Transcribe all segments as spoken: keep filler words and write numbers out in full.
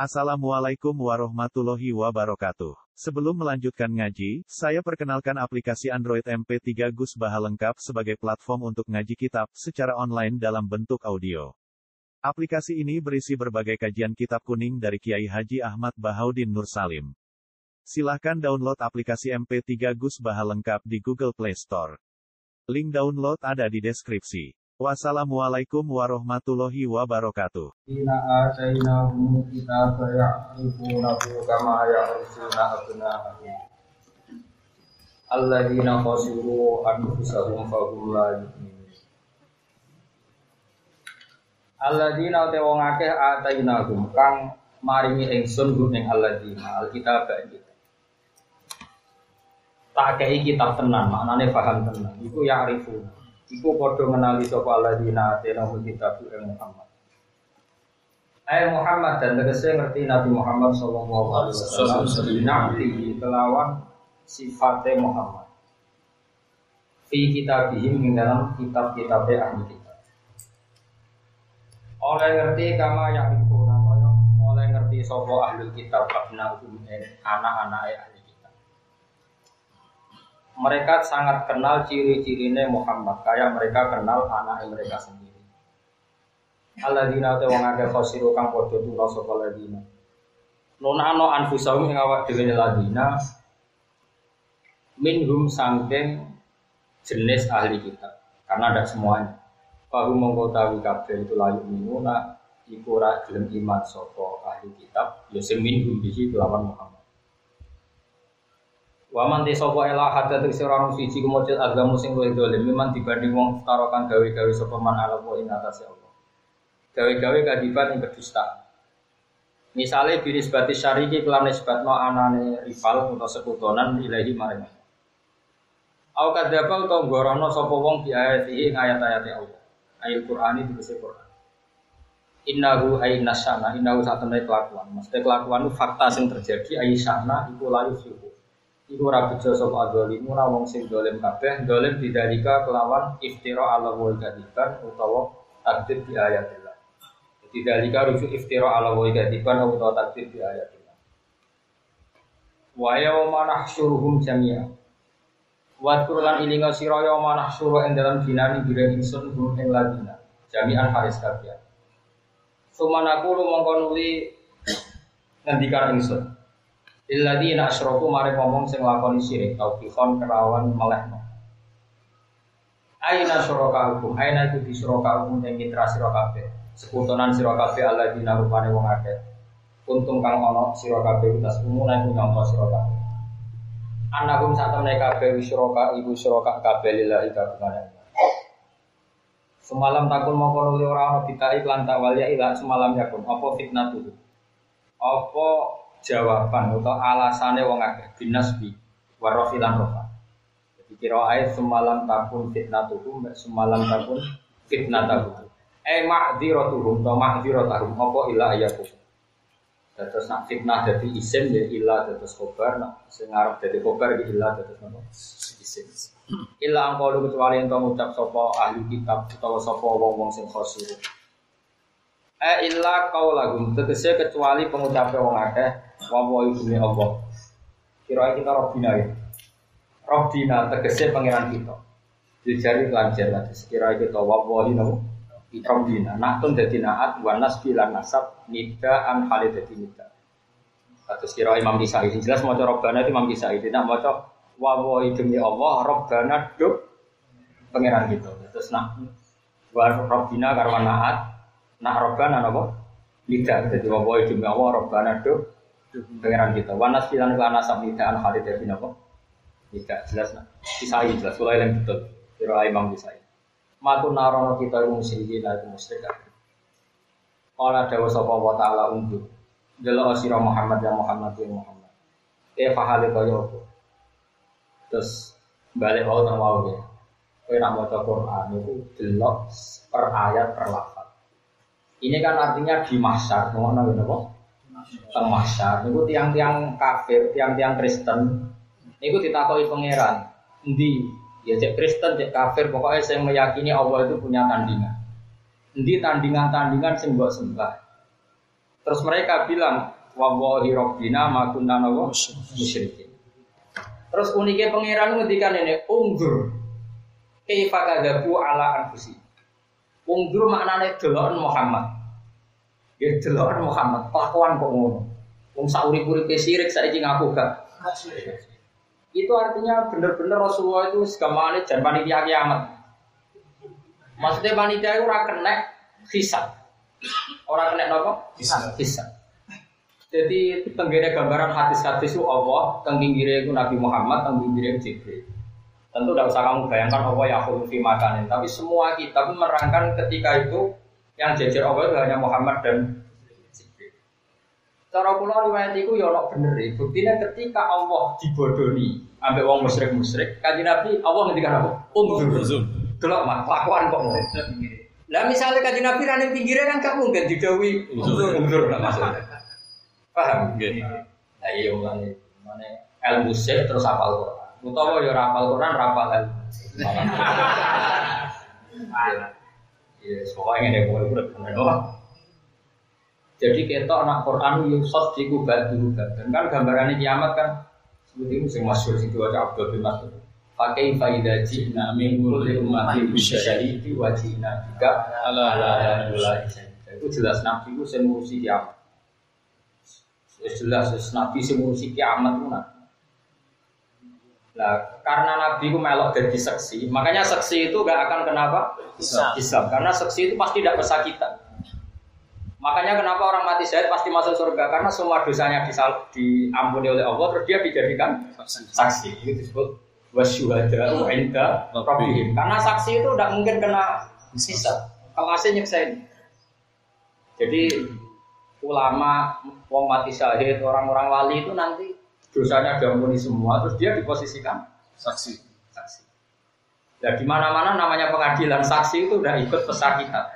Assalamualaikum warahmatullahi wabarakatuh. Sebelum melanjutkan ngaji, saya perkenalkan aplikasi Android M P tiga Gus Baha lengkap sebagai platform untuk ngaji kitab secara online dalam bentuk audio. Aplikasi ini berisi berbagai kajian kitab kuning dari Kiai Haji Ahmad Bahaudin Nur Salim. Silahkan download aplikasi M P tiga Gus Baha lengkap di Google Play Store. Link download ada di deskripsi. Wassalamualaikum warahmatullahi wabarakatuh. Inna atainahum kitaba ya'rifunahu kama ya'rifuna abna'ahum. Alladzina khasiru anfusahum fahum la yu'minun. Alladzina te wong akeh atainahum kang maringi ingsun gum ing alladzina alkitab iki. Tak kei kitab tenan, maknane paham tenan. Iku ya'rifuna. Iku padha menali sapa alladzina atenahum kitab ing Muhammad. Ai Muhammad dan tegese ngerti Nabi Muhammad sallallahu alaihi wasallam nabi kelawan sifate Muhammad. Fi kitabihim ing dalam kitab-kitab ahli kitab. Oleh ngerti kama ya'rifuna kaya oleh ngerti sapa ahli kitab abnahum anak-anake ahli kitab. Mereka sangat kenal ciri-cirine Muhammad, kayak mereka kenal anak mereka sendiri. Alladzina te wong akeh khosiru kang padha tula sapa ladina. Nunano anfusahum ing awak dhewe ladina minhum sangking jenis ahli kitab, karena ada semuanya. Baru mengkotawi kabeh itu layu minuna iku ora gelem iman sapa ahli kitab, ya sing minhum bihi kelawan Muhammad. Waman te sapa ela hadat sing ora ono siji kemujud agama sing luwih dolim memang dibanding wong tarokan gawe-gawe sapa man ala wa ing atase Allah. Gawe-gawe kadiban ing kedustaan. Misale binisbati syariki kelan nisbatno anane rival utawa sekutonan ilahi maring. Au kadzaba utawa gorono sapa wong bi ayati ing ayat-ayate Allah. Ayat Qur'ani dikese Qur'an. Innahu aynasyana innahu satene kelakuan. Mesti kelakuan itu fakta sing terjadi aysyana iku layu fiku. Iku ora bejo sapa adzalimu ora wong sing dolim kabeh, dolim bidalika kelawan iftira ala wa kadiban utawa takdzib bi ayatillah. Jadi dalika rujuk iftira ala wa kadiban utawa takdzib bi ayatillah. Wa yauma nahsyuruhum jami'a. Wa qur'an ilinga sira yauma nahsyuru ing dalam dinani bire ingsun hum ing ladina. Jami'an haris kabeh. Sumanaku mongko nuli ngendikan ingsun. Illadzina asyraku mare ngomong sing lakoni syirik tauhidon kerawan melehno. Aina syuraka hukum, aina iku disyuraka hukum ing mitra sira kabeh. Sekutonan sira kabeh alladzina rupane wong akeh. Untung kang ana sira kabeh utas umune iku nyangka sira kabeh. Anahum satemene kabeh syuraka ibu syuraka kabeh lillahi ta'ala. Semalam takun mongko nuli ora ana bitai lan tawaliya ila semalam yakun apa fitnah tuh. Apa jawaban atau alasane wong akeh binasbi warafilan rofa. Jadi kira ayat semalam takun fitnatuhum semalam takun fitnatuhum. Eh ma'dziratuhum atau ma'dziratuhum apa ila ayakum. Terus nak fitnah dadi isim ya ila terus khobar nak sing arep dadi khobar iki ila terus apa isim. Ila angko kecuali ento ngucap sapa ahli kitab utawa sapa wong-wong sing khosir. Eh illa qaulahum tegese kecuali pengucape wong akeh wa ibune Allah. Kira kita Rabbina ya. Rabbina tegese pangeran kita. Dijari lancar lah sekira kita wa walina Rabbina. Naktun dadi naat wa nasbi lan nasab nida an halid dadi nida. Terus kira Imam Kisai jelas maca Rabbana itu Imam Kisai tidak maca wa ibune Allah Rabbana duk pangeran kita. Terus nak wa Rabbina karwan naat nak Rabbana napa? Nida dadi wa ibune Allah Rabbana duk pengeran kita. Wanas bilang kelana samidaan Khalid bin apa? Tidak jelas nak. Kisai jelas. Kalau yang betul. Kira Imam Kisai. Matu narono kita musyrikin itu musyrik. Qala dawu sapa wa taala unjuk. Delok sira Muhammad ya Muhammad ya Muhammad. Eh fahale kaya apa? Terus balik wae nang wae. Kowe nak maca Quran itu delok per ayat per lafaz. Ini kan artinya di mahsyar, ngono napa? Teng mahsyar niku tiang-tiang kafir, tiang-tiang Kristen niku ditakoki pangeran, endi ya cek Kristen, cek kafir, pokoknya saya meyakini Allah itu punya tandingan. Endi tandingan-tandingan sing mbok sembah. Terus mereka bilang, wallahi rabbina ma kunna musyrikin. Terus uniknya pangeran ngendikan ini, undur kaifa kadzabu ala anfusi. Undur maknane deloken Muhammad. Ya deloken Muhammad, kelakuan kok ngono. Wong sak urip-uripe sirik saiki ngaku gak. Itu artinya bener-bener Rasulullah itu segamane jan panitia kiamat. Maksudnya panitia itu ora kena hisab. Ora kena napa? Hisab. Hisab. Jadi tenggene gambaran hadis-hadis itu Allah, teng pinggire itu Nabi Muhammad, teng pinggire Jibril. Tentu tidak usah kamu bayangkan Allah ya khulu fi makanin, tapi semua kitab menerangkan ketika itu yang jejer Allah itu hanya Muhammad dan Jibril. Cara kula riwayat iku ya ono bener e. Buktine ketika Allah dibodoni ambek wong musyrik-musyrik, Kanjeng Nabi Allah ngendikan apa? Unzur. Delok mah kelakuan kok ngono. Lah misale Kanjeng Nabi ra ning pinggire kan gak mungkin didhawuhi unzur lah maksudnya. Paham nggih? Lah iya ngene. Mane ilmu sih terus hafal Quran. Utawa ya hafal Quran, hafal ilmu. Ya, soalnya ngene kok urip bener. Jadi ketok anak Quran yusad diku badu dan kan gambarannya kiamat kan seperti itu sing masyhur sing diwaca Abdul bin Mas'ud. Pakai faida jina min kulli ummatin bisyahidi wa jina bika ala ala itu jelas nabi itu sing ngurusi kiamat. Jelas nabi sing ngurusi kiamat itu nah. Nah, karena nabi itu melok jadi saksi, makanya saksi itu gak akan kenapa? Hisab. Karena saksi itu pasti tidak bersakitan. Makanya kenapa orang mati syahid pasti masuk surga, karena semua dosanya diampuni oleh Allah, terus dia dijadikan saksi. Itu disebut wasyuhada'u 'inda rabbihim. Karena saksi itu tidak mungkin kena hisab. Kalau asli nyeksain. Jadi ulama, wong mati syahid, orang-orang wali itu nanti dosanya diampuni semua, terus dia diposisikan saksi. Saksi. Nah, di mana-mana namanya pengadilan saksi itu udah ikut pesakitan.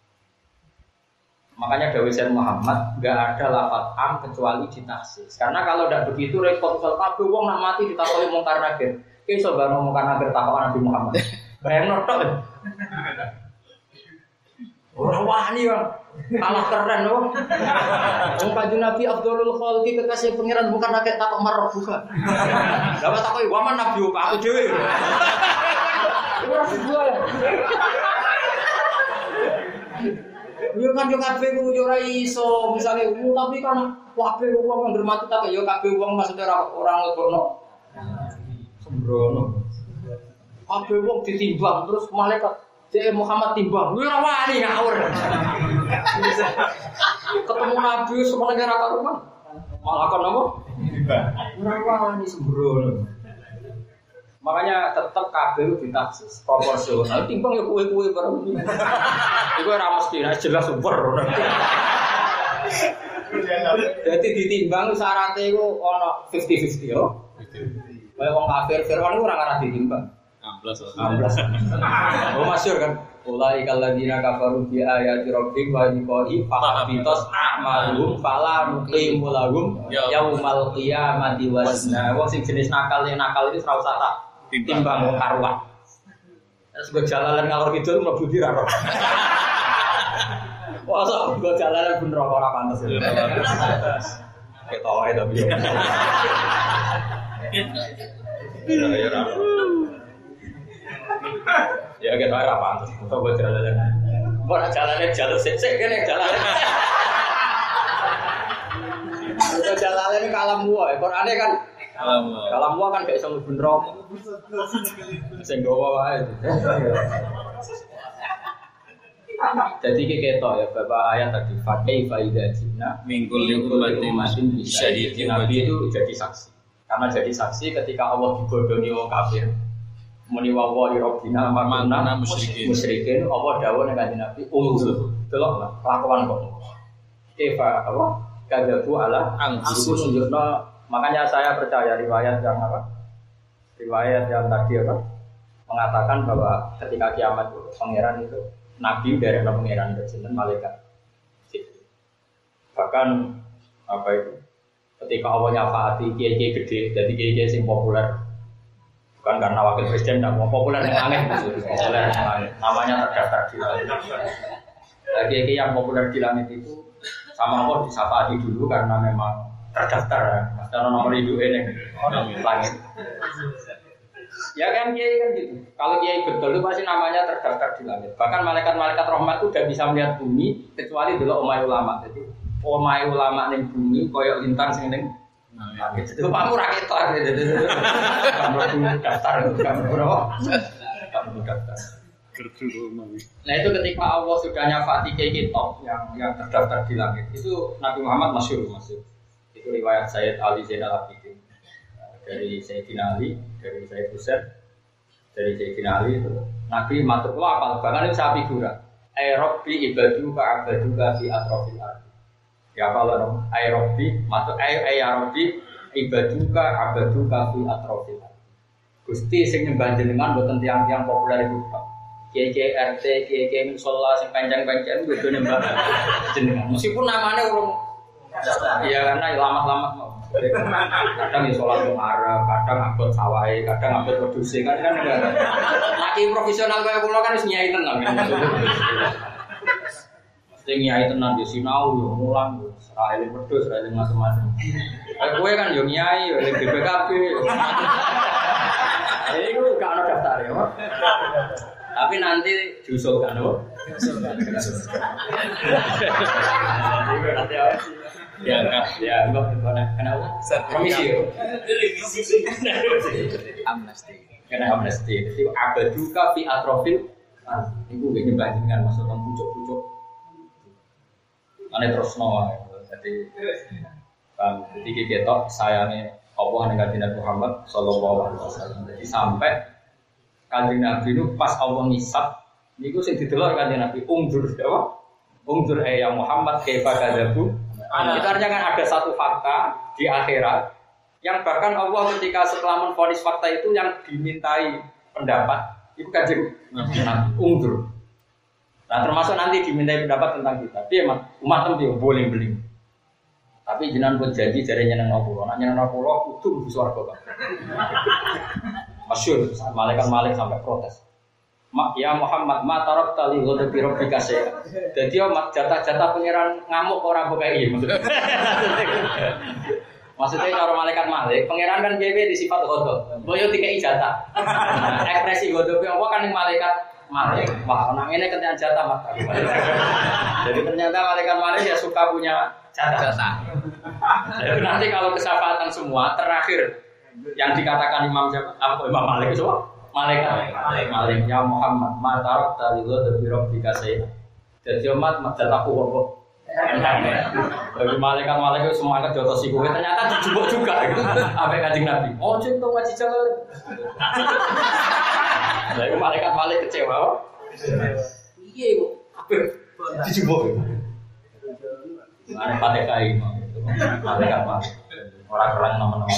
Makanya Dawei Sayyid Muhammad nggak ada lafaz am kecuali ditaksis. Karena kalau tidak begitu repot soal kabeh wong nak mati ditakoni mungkar nakir. Ki iso bar mungkar nakir takon Nabi Muhammad. Bayangno tok. Ora wani wae. Kalah keren loh. Wong Kanjeng Nabi Abdulul Khalqi kekasih pangeran mungkar nakir takon marah buka. Dapat takoki waman Nabi aku dhewe. Ora buka. Yo kan yo kabeh ku yo ora iso, misale tapi kan kabeh wong yang hormati tak yo kabeh wong maksudnya ora ora nglebokno. Sembrono. Kabeh wong ditimbang terus malaikat Dek Muhammad timbang. Lu ora wani ngawur. Ketemu Nabi semua negara karuan. Malah kon apa? Ora wani sembrono. Makanya tetap kabel ditaksis proporsional. Timbang ya kue-kue bareng. Iku ora mesti jelas super. Jadi ditimbang syaratnya iku ana lima puluh lima puluh yo. Kayak wong kafir Fir'aun iku ora ngarah ditimbang. enam belas. enam belas. Oh masyhur kan. Ulai kalladzina kafaru bi ayati rabbihim wa liqa'i fahabitas a'maluhum fala nuqimu lahum yaumal qiyamati wazna. Wong sing jenis nakal yang nakal itu ora usah tak timbang karuan. Terus gue jalalan ngalor kidul mlebu di ra. Wah, sok gue jalanan bener ora pantes. Ketoke tapi. Ya ya ra. Ya kita ora pantes. Kok gue jalanan. Mau jalanane jalur sik-sik kene jalanan. Gue jalanan kalam wae. Qur'ane kan kalam wae kan gak iso mlebu neraka. Sing gowo wae. Jadi ketok ya Bapak ayat tadi fakai faida jina mingkul umatin bisyahidin. Nabi itu jadi saksi. Karena jadi saksi ketika Allah dibodoni wong kafir. Muni wa wa rabbina makana musyrikin. Musyrikin Allah dawuh nang Kanjeng Nabi, "Unzur." Deloklah kelakuan kok. Kefa apa? Kadzabu ala anfusihim. Makanya saya percaya riwayat yang apa? Riwayat yang tadi apa? Mengatakan bahwa ketika kiamat itu pangeran itu nabi dari pangeran itu sinten malaikat. Bahkan apa itu? Ketika Allah nyafaati kiai-kiai gede, jadi kiai-kiai sing populer. Bukan karena wakil presiden tidak mau populer yang aneh, populer yang aneh. Namanya terdaftar di langit. Kiai-kiai yang populer di langit itu sama Allah disafati dulu karena memang terdaftar ya. Karena nomor hidup ini langit. Ya kan kiai kan gitu. Kalau kiai betul itu pasti namanya terdaftar di langit. Bahkan malaikat-malaikat rahmat itu udah bisa melihat bumi kecuali dulu omai ulama. Jadi omai ulama ning bumi koyok lintang sing ning langit. Itu kamu rakyat gitu. Kamu daftar kamu berapa? Kamu daftar. Nah itu ketika Allah sudah nyafati kiai kitab yang yang terdaftar di langit itu Nabi Muhammad masyhur masyhur. Itu riwayat Sayyid Ali Zainal Abidin dari Sayyidina Ali, dari Sayyid Husain, dari Sayyidina Ali itu Nabi matur kula apal bahkan itu sapi gura. Ay Rabbi ibadu ka abadu ka fi atrofil ardi. Ya apal dong. Ay Rabbi matur ay ay Rabbi ibadu ka abadu ka fi atrofil ardi. Gusti sing nyembah jenengan mboten tiyang-tiyang populer iku Pak. Kiai-kiai R T, kiai-kiai musola sing panjang-panjang kudu nyembah jenengan. Meskipun namanya urung ya karena lama-lama mau. Kadang ya sholat Jumat, kadang abot sawai, kadang abot produksi kan kan enggak. Laki profesional kayak pulau kan harus nyai tenan. Mesti nyai tenan di sinau yo mulang yo seraile wedhus, seraile macam-macam. Kayak gue kan yo nyai, yo B P K B. Ini gue gak ada daftar ya, Pak. Tapi nanti diusulkan, Pak. Nanti apa sih? Ya, ya, enggak, kenapa? Komisi, amnesti, kena amnesti. Jadi abaduka fi atrofil, itu begini bandingan maksudnya pucuk-pucuk. Mana terus nawa, jadi, kan, jadi kita sayangnya Allah dengan Nabi Muhammad Sallallahu Alaihi Wasallam. Jadi sampai kanjeng Nabi itu pas Allah ngisap, itu sing didelok kanjeng Nabi umdur, apa? Umdur ya Muhammad kaifa kadzabu. Itu artinya kan ada satu fakta di akhirat yang bahkan Allah ketika setelah menvonis fakta itu yang dimintai pendapat itu kanjeng Nabi undur. Nah termasuk nanti dimintai pendapat tentang kita. Tapi emang umat itu boleh beli. Tapi jenengan pun janji jare nyeneng pulau. Nak nyeneng pulau kudu di swarga. Masyhur malaikat-malaikat sampai protes. Mak ya Muhammad ma tarab tali ghadabi rabbika saya. Dadi yo jatah-jatah pangeran ngamuk ora mbok kei maksudnya. Maksudnya karo malaikat malik, pangeran kan piye di sifat ghadab. Mbok yo dikei jatah. Ekspresi ghadab apa kan ning malaikat malik. Wah, nang ngene ketian jatah Mas. Jadi ternyata malaikat malik ya suka punya jatah. Jadi nanti kalau kesyafaatan semua terakhir yang dikatakan Imam siapa? Apa Imam Malik itu? Malaikat Malik ya Muhammad ma tarab tali ghadabi rabbika sayya. Dadi umat majataku kok. Bagi malaikat-malaikat semangat jotos iku ternyata dijubuk juga gitu. Sampai Kanjeng Nabi. Oh, cek to ngaji jalan. Lah malaikat Malik kecewa. Iya kok. Dijubuk. Ana pate kai malaikat Malik. Ora kerang nama-nama.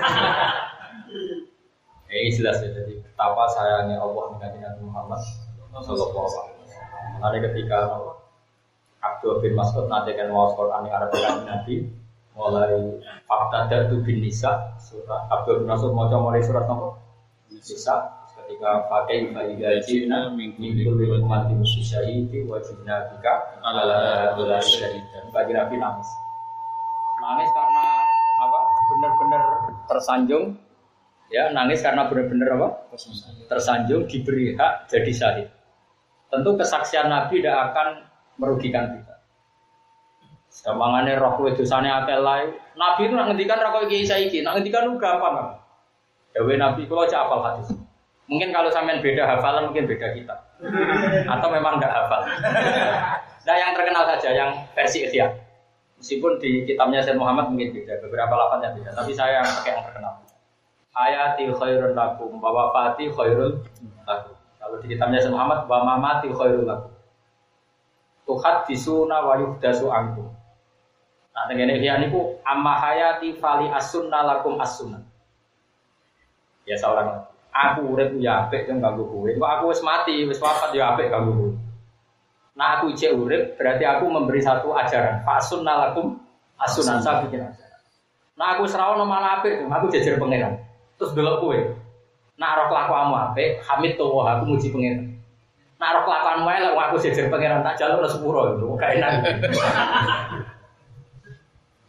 Eh jelas ya, jadi betapa sayangnya Allah dengan Nabi Muhammad Sallallahu Alaihi Wasallam. Mulai ketika Abdul bin Mas'ud nanti kan wawas Quran yang Arabikan Nabi, mulai fakta datu bin Nisa, surah Abdul bin Mas'ud mau mulai surat apa? Nisa. Ketika pakai bagi gajina mingkul bil mati musyahidi wajibna bika ala ala syahid. Bagi Nabi nangis, nangis karena apa? Benar-benar tersanjung. Ya, nangis karena benar-benar apa? Tersanjung diberi hak jadi syahid. Tentu kesaksian Nabi tidak akan merugikan kita. Gampangane roh kowe dosane akeh lae. Nabi itu nak ngendikan ra koyo iki saiki, nak ngendikan lu gampang. Dewe Nabi kula cak hafal hadis. Mungkin kalau sampean beda hafalan mungkin beda kita. Atau memang enggak hafal. Nah, yang terkenal saja yang versi Ihya. Meskipun di kitabnya Sayyid Muhammad mungkin beda, beberapa lafaznya beda, tapi saya yang pakai yang terkenal. Hayati khairun lakum wa wafati khairun lakum. Kalau di kitabnya Sayyid Muhammad wa mamati khairun lakum. Tuhadisuna wa yuhdasu ankum. Nah, tengene Ihya niku amma hayati fali as-sunnah lakum as-sunnah. Ya seorang aku urip ya apik yang ganggu kowe. Kok aku wis mati, wis wafat ya apik ganggu kowe. Nah aku ijek urip berarti aku memberi satu ajaran. Fa sunnah lakum as-sunnah saya bikin ajaran. Nah aku serawono malah apik, aku jejer pangeran. Terus delok kowe. Nah roh kelakuanmu apik, hamid to aku muji pangeran. Nah roh kelakuanmu elek aku jejer pangeran tak jaluk sepuro itu. Gak enak.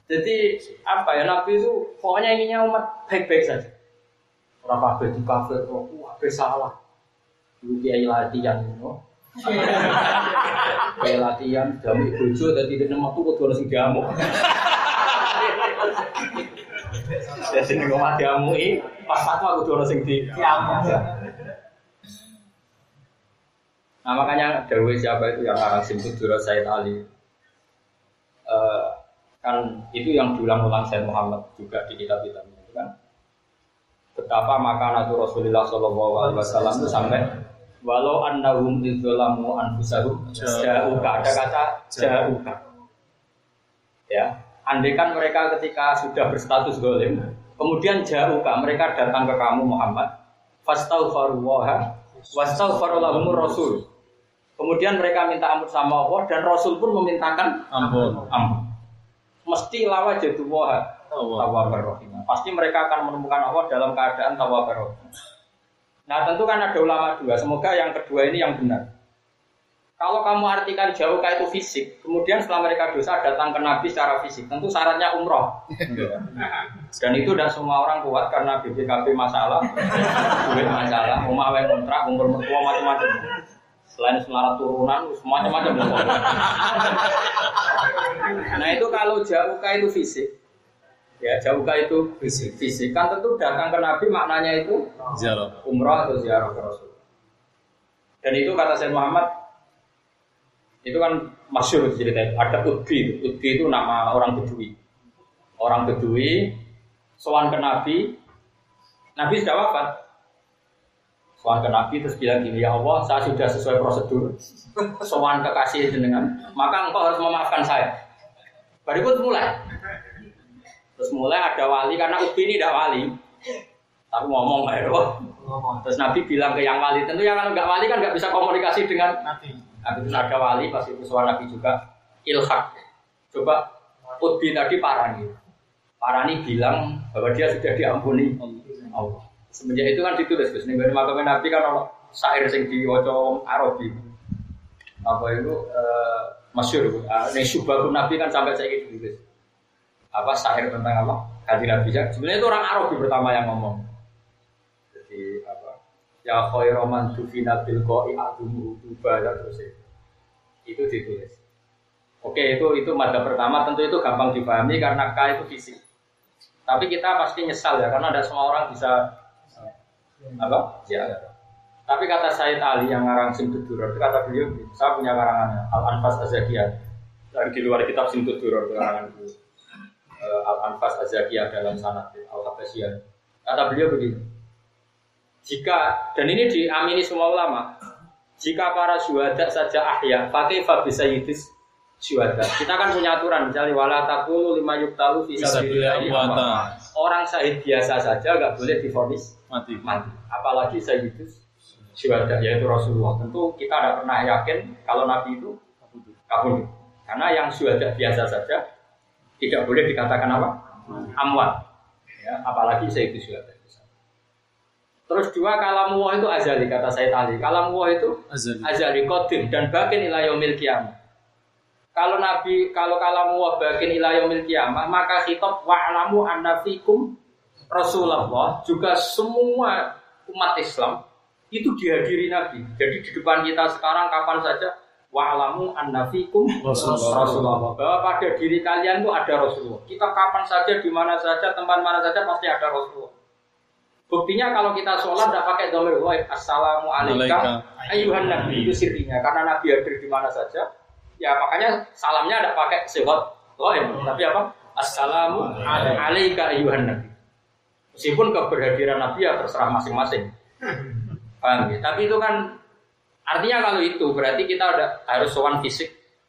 Jadi apa ya Nabi itu pokoknya inginnya umat baik-baik saja. Orang kabeh di kafe kok wah salah. Dulu kiai latihan no. Kiai latihan jamu bojo dadi nek metu kudu ono sing jamu. Jadi nek omah jamu iki pas fatwa kudu ono sing di jamu. Nah makanya dawuh siapa itu yang arang simpul Dura Said Ali. Uh, kan itu yang diulang-ulang Said Muhammad juga di kitab-kitabnya itu kan. Betapa makanatu Rasulullah sallallahu alaihi wasallam itu sampai walau annahum idzalamu anfusahum ja'uka, ada kata ja'uka. Ya, andaikan mereka ketika sudah berstatus zalim, kemudian ja'uka, mereka datang ke kamu Muhammad, fastaghfirullaha wastaghfara lahumur rasul. Kemudian mereka minta ampun sama Allah dan Rasul pun memintakan ampun. Ampun. Mesti lawa jatuh tawwabar rahim. Pasti mereka akan menemukan Allah dalam keadaan tawwabar rahim. Nah tentu kan ada ulama dua. Semoga yang kedua ini yang benar. Kalau kamu artikan jauh kayak itu fisik, kemudian setelah mereka dosa datang ke Nabi secara fisik, tentu syaratnya umroh. Dan itu tidak semua orang kuat karena B P K B masalah, duit masalah, rumah yang kontrak, umur mertua macam-macam. Selain selarat turunan, macam-macam. Nah itu kalau jauh kayak itu fisik. Ya, jauhkah itu fisik. Fisik kan tentu datang ke Nabi maknanya itu ziarah, umrah atau ziarah ke Rasul. Dan itu kata Sayyid Muhammad itu kan masyhur ceritanya. Ada Udbi, Udbi itu nama orang Bedui. Orang Bedui sowan ke Nabi, Nabi sudah wafat. Sowan ke Nabi terus bilang gini, ya Allah, saya sudah sesuai prosedur. Sowan kekasih jenengan, maka engkau harus memaafkan saya. Berikut mulai. Terus mulai ada wali, karena Ubi ini tidak wali. Tapi ngomong ya, terus Nabi bilang ke yang wali, tentu yang kalau nggak wali kan nggak bisa komunikasi dengan Nabi. Nabi itu ada wali, pasti itu suara Nabi juga ilhaq. Coba Ubi tadi Parani, Parani bilang bahwa dia sudah diampuni Allah. Semenjak itu kan ditulis, Gus. Nih makam Nabi kan kalau syair sing diwaca Arabi, apa itu uh, masyhur. Nih syubahun Nabi kan sampai saya gitu ditulis. Apa syair tentang apa? Kanjeng Nabi. Sebenarnya itu orang Arabi pertama yang ngomong. Jadi apa? Ya khairu man tufina bil qa'i adumu ubada terus itu. Itu ditulis. Oke, itu itu madzhab pertama, tentu itu gampang dipahami karena K itu fisik. Tapi kita pasti nyesal ya karena ada semua orang bisa apa? Ya. Tapi kata Sayyid Ali yang ngarang Simtud Duror, itu kata beliau, saya punya karangannya Al-Anfas Az-Zakiyah. Dari di luar kitab Simtud Duror karangan beliau. Al-Anfas Az-Zakiyah dalam sanad Al-Habasyiyah. Kata beliau begini. Jika dan ini diamini semua ulama, jika para syuhada saja ahya, pakai fa bisayyidis syuhada. Kita kan punya aturan misalnya wala taqulu lima yuqtalu fi sabilillah. Orang syahid biasa saja enggak boleh divonis mati. Mati. Apalagi sayyidis syuhada yaitu Rasulullah. Tentu kita tidak pernah yakin kalau Nabi itu kabur. Karena yang syuhada biasa saja tidak boleh dikatakan apa? Amwat. Ya, apalagi sayyidis syuhada. Terus dua kalamullah itu azali kata Sayyid Ali. Kalamullah itu azali, azali qadim dan bakin ila yaumil qiyamah. Kalau Nabi kalau kalamullah bakin ila yaumil qiyamah, maka khitab wa'lamu anna fikum Rasulullah juga semua umat Islam itu dihadiri Nabi. Jadi di depan kita sekarang kapan saja wa'lamu anna fikum Rasulullah. Rasulullah. Bahwa pada diri kalian itu ada Rasulullah. Kita kapan saja di mana saja tempat mana saja pasti ada Rasulullah. Buktinya kalau kita sholat tidak pakai dhamir ghaib, assalamu alayka ayyuhan nabi, itu sirinya karena nabi hadir di mana saja. Ya makanya salamnya tidak pakai sifat ghaib, tapi apa? Assalamu alayka ayyuhan nabi. Meskipun keberhadiran nabi ya terserah masing-masing. Paham ya? Tapi itu kan artinya kalau itu berarti kita udah harus sowan fisik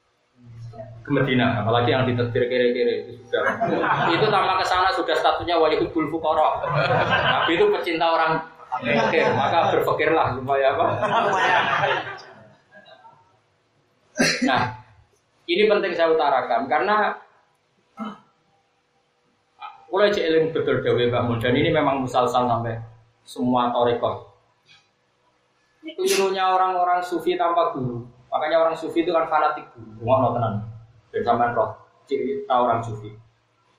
ke Madinah, apalagi yang ditetir kere-kere itu sudah. Itu tambah ke sana sudah statusnya wajibul fuqara. Nabi itu pecinta orang fakir, maka berfikirlah supaya apa? Nah, ini penting saya utarakan karena mulai jeeling betul dewe bangun dan ini memang musalsal sampai semua tarekat. Kelirunya orang-orang sufi tanpa guru. Makanya orang sufi itu kan fanatik guru, ngono tenan. Dan sampean roh ciri orang sufi.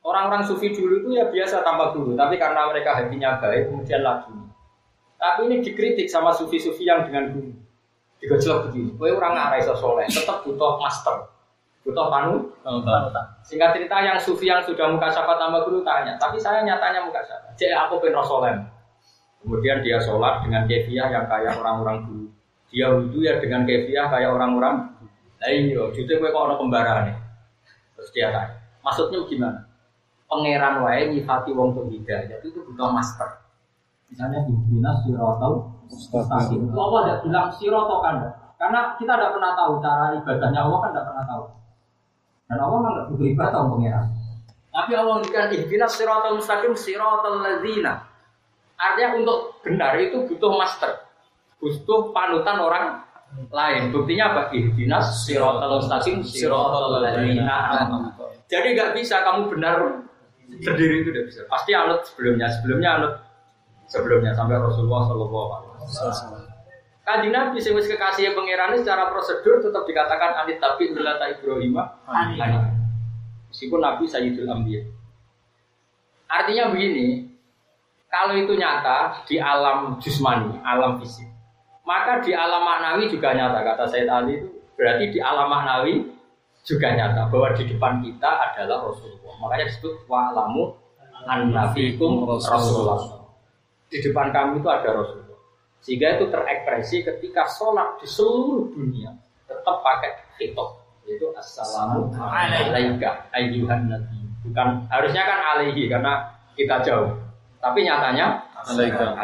Orang-orang sufi dulu itu ya biasa tanpa guru, tapi karena mereka hatinya baik, kemudian lagi. Tapi ini dikritik sama sufi-sufi yang dengan guru. Digojlok begini, kowe orang nggak iso soleh, tetap butuh master, butuh panu. Singkat cerita yang sufi yang sudah mukasyafat tanpa guru tanya, tapi saya nyatanya mukasyafat. Jadi aku pengen soleh. Kemudian dia sholat dengan kefiah yang kayak orang-orang dulu. Dia wudhu ya dengan kefiah kayak orang-orang. Nah iya, jadi kowe kok orang kembaran nih. Terus dia tanya, maksudnya gimana? Pangeran wae nyifati wong tuh hidayah itu itu butuh master. Misalnya di dinas sirotol mustaqim. Itu Allah tidak bilang sirotol kan? Karena kita tidak pernah tahu cara ibadahnya Allah kan tidak pernah tahu. Dan Allah kan tidak butuh ibadah untuk pangeran. Tapi Allah memberikan dinas sirotol mustaqim sirotol ladzina. Artinya untuk benar itu butuh master, butuh panutan orang lain. Buktinya apa? Dinas sirotol mustaqim sirotol ladzina. Jadi nggak bisa kamu benar sendiri itu tidak bisa. Pasti anut sebelumnya, sebelumnya anut sebelumnya sampai Rasulullah Shallallahu Alaihi Wasallam. Kanjeng Nabi sing wis kekasih pangeran secara prosedur tetap dikatakan anit tapi millata Ibrahim hanif. Meskipun Nabi Sayyidul Anbiya. Artinya begini, kalau itu nyata di alam jusmani, alam fisik, maka di alam maknawi juga nyata. Kata Sayyid Ali itu berarti di alam maknawi juga nyata bahwa di depan kita adalah Rasulullah. Makanya disebut wa'lamu anna fikum Rasulullah. Di depan kami itu ada Rasulullah. Sehingga itu terekspresi ketika sholat di seluruh dunia tetap pakai khitab, yaitu assalamu alaika ayyuhan nabi. Bukan harusnya kan alaihi karena kita jauh. Tapi nyatanya alaika.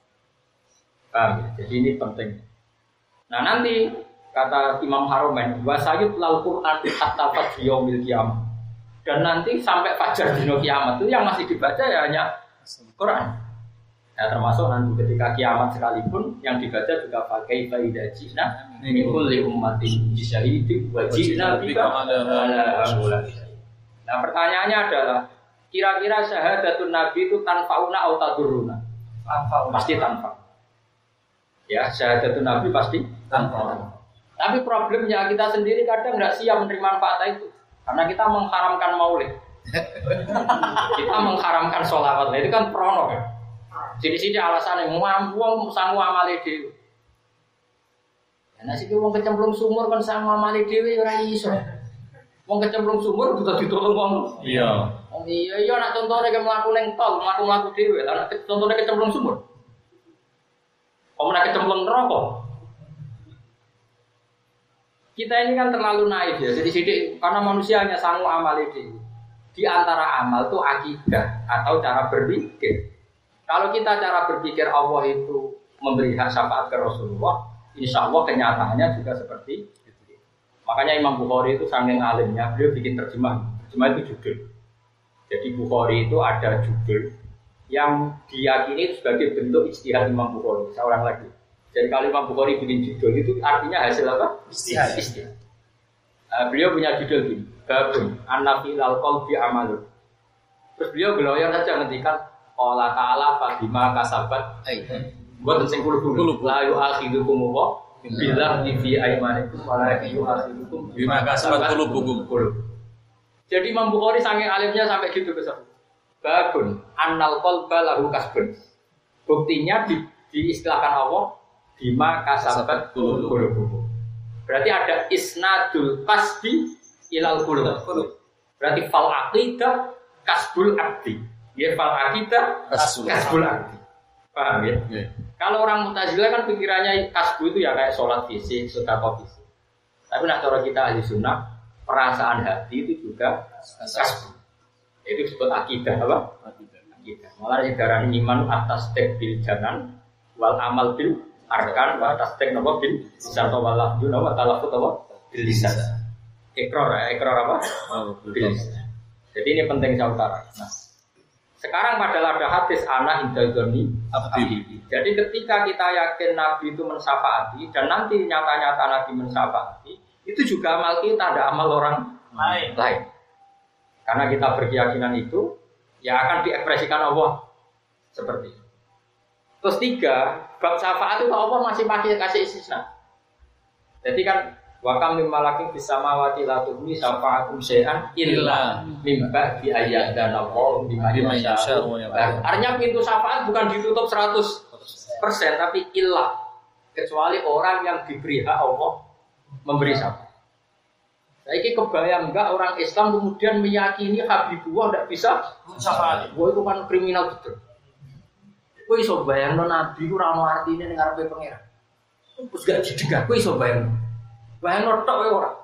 Paham ya? Jadi ini penting. Nah nanti kata Imam Haromen, wasayut lal Quran hatta fajr yaumil qiyamah. Dan nanti sampai fajar dino kiamat itu yang masih dibaca ya hanya Quran. Ya termasuk nanti ketika kiamat sekalipun yang dibaca juga pakai faidah jina min kulli ummatin bisyahidi wa jina bika ala haula. Nah pertanyaannya adalah kira-kira syahadatun nabi itu tanfauna atau taduruna? Pasti tanfa. Ya syahadatun nabi pasti tanfa. Tapi problemnya kita sendiri kadang nggak siap menerima manfaat itu. Karena kita mengharamkan maulid, kita mengharamkan sholawat, itu kan prono kan. Sini-sini alasannya muam-muam sanggup amali dewi. Nah sih wong kecemplung sumur kan sanggup amali dewi ora iso. Wong kecemplung sumur butuh ditolong wong. Iya. Oh iya iya nak contohnya kayak melaku neng tol, melaku-melaku dewi. Lah nak contohnya kecemplung sumur. Kamu nak kecemplung neraka. Kita ini kan terlalu naif ya, jadi sidik karena manusia hanya sanggup amal itu. Di antara amal itu akidah atau cara berpikir. Kalau kita cara berpikir Allah itu memberi hak syafaat ke Rasulullah, insya Allah kenyataannya juga seperti itu. Makanya Imam Bukhari itu saking alimnya, beliau bikin terjemah. Terjemah itu judul. Jadi Bukhari itu ada judul yang diyakini sebagai bentuk ijtihad Imam Bukhari. Seorang lagi. Jadi kalau Imam Bukhari bikin judul itu artinya hasil apa? Ijtihad. Ijtihad. Uh, beliau punya judul gini, Babun An-Nafi Al-Qalbi Amalun. Terus beliau geloyor saja ngendikan Allah Ta'ala Fadima Kasabat buat sing kulo-kulo la yu'akhidukum wa billah fi aymanikum wa la yu'akhidukum bima kasabat qulubukum. Jadi Imam Bukhari saking alimnya sampai gitu ke sana. Babun Annal qalba lahu kasbun. Buktinya di, diistilahkan Allah bima kasabat qulubukum. Berarti ada isnadul kasbi ilal qulub. Berarti fal aqidah kasbul abdi. Ya fal aqidah kasbul abdi. Paham ya? Yeah. Kalau orang Mu'tazilah kan pikirannya kasbu itu ya kayak sholat fisik, sedekah fisik. Tapi nak cara kita ahli sunnah, perasaan hati itu juga kasbu. Itu disebut akidah apa? Akidah. Malah yang iman atas tek bil janan wal amal bil arkan wa tasdik napa bil lisan wa lafzu wa talafut apa bil lisan. Ikrar, ikrar apa? Bil lisan. Jadi ini penting saya utara. Nah, sekarang padahal ada hadis anak indadzoni abdi. Jadi ketika kita yakin Nabi itu mensyafaati dan nanti nyata-nyata Nabi mensyafaati, itu juga amal kita, ada amal orang lain. lain. Karena kita berkeyakinan itu, ya akan diekspresikan Allah seperti itu. Terus tiga, bab syafaat itu Allah masih pakai kasih istisna. Jadi kan Wa kam mim malakin fis samawati la tughni syafa'atum syai'an illa mim ba'di ayyadana Allah bima yasha. Artinya pintu syafaat bukan ditutup seratus persen tapi illa kecuali orang yang diberi hak Allah memberi syafaat. Saiki kebayang enggak orang Islam kemudian meyakini Habibullah tidak bisa syafaat. Wah itu kan kriminal betul. Kowe iso bayangno nabi ku ora ono artine ning ngarepe pangeran. Terus gak didegah kowe iso bayangno. Bayangno tok kowe ora.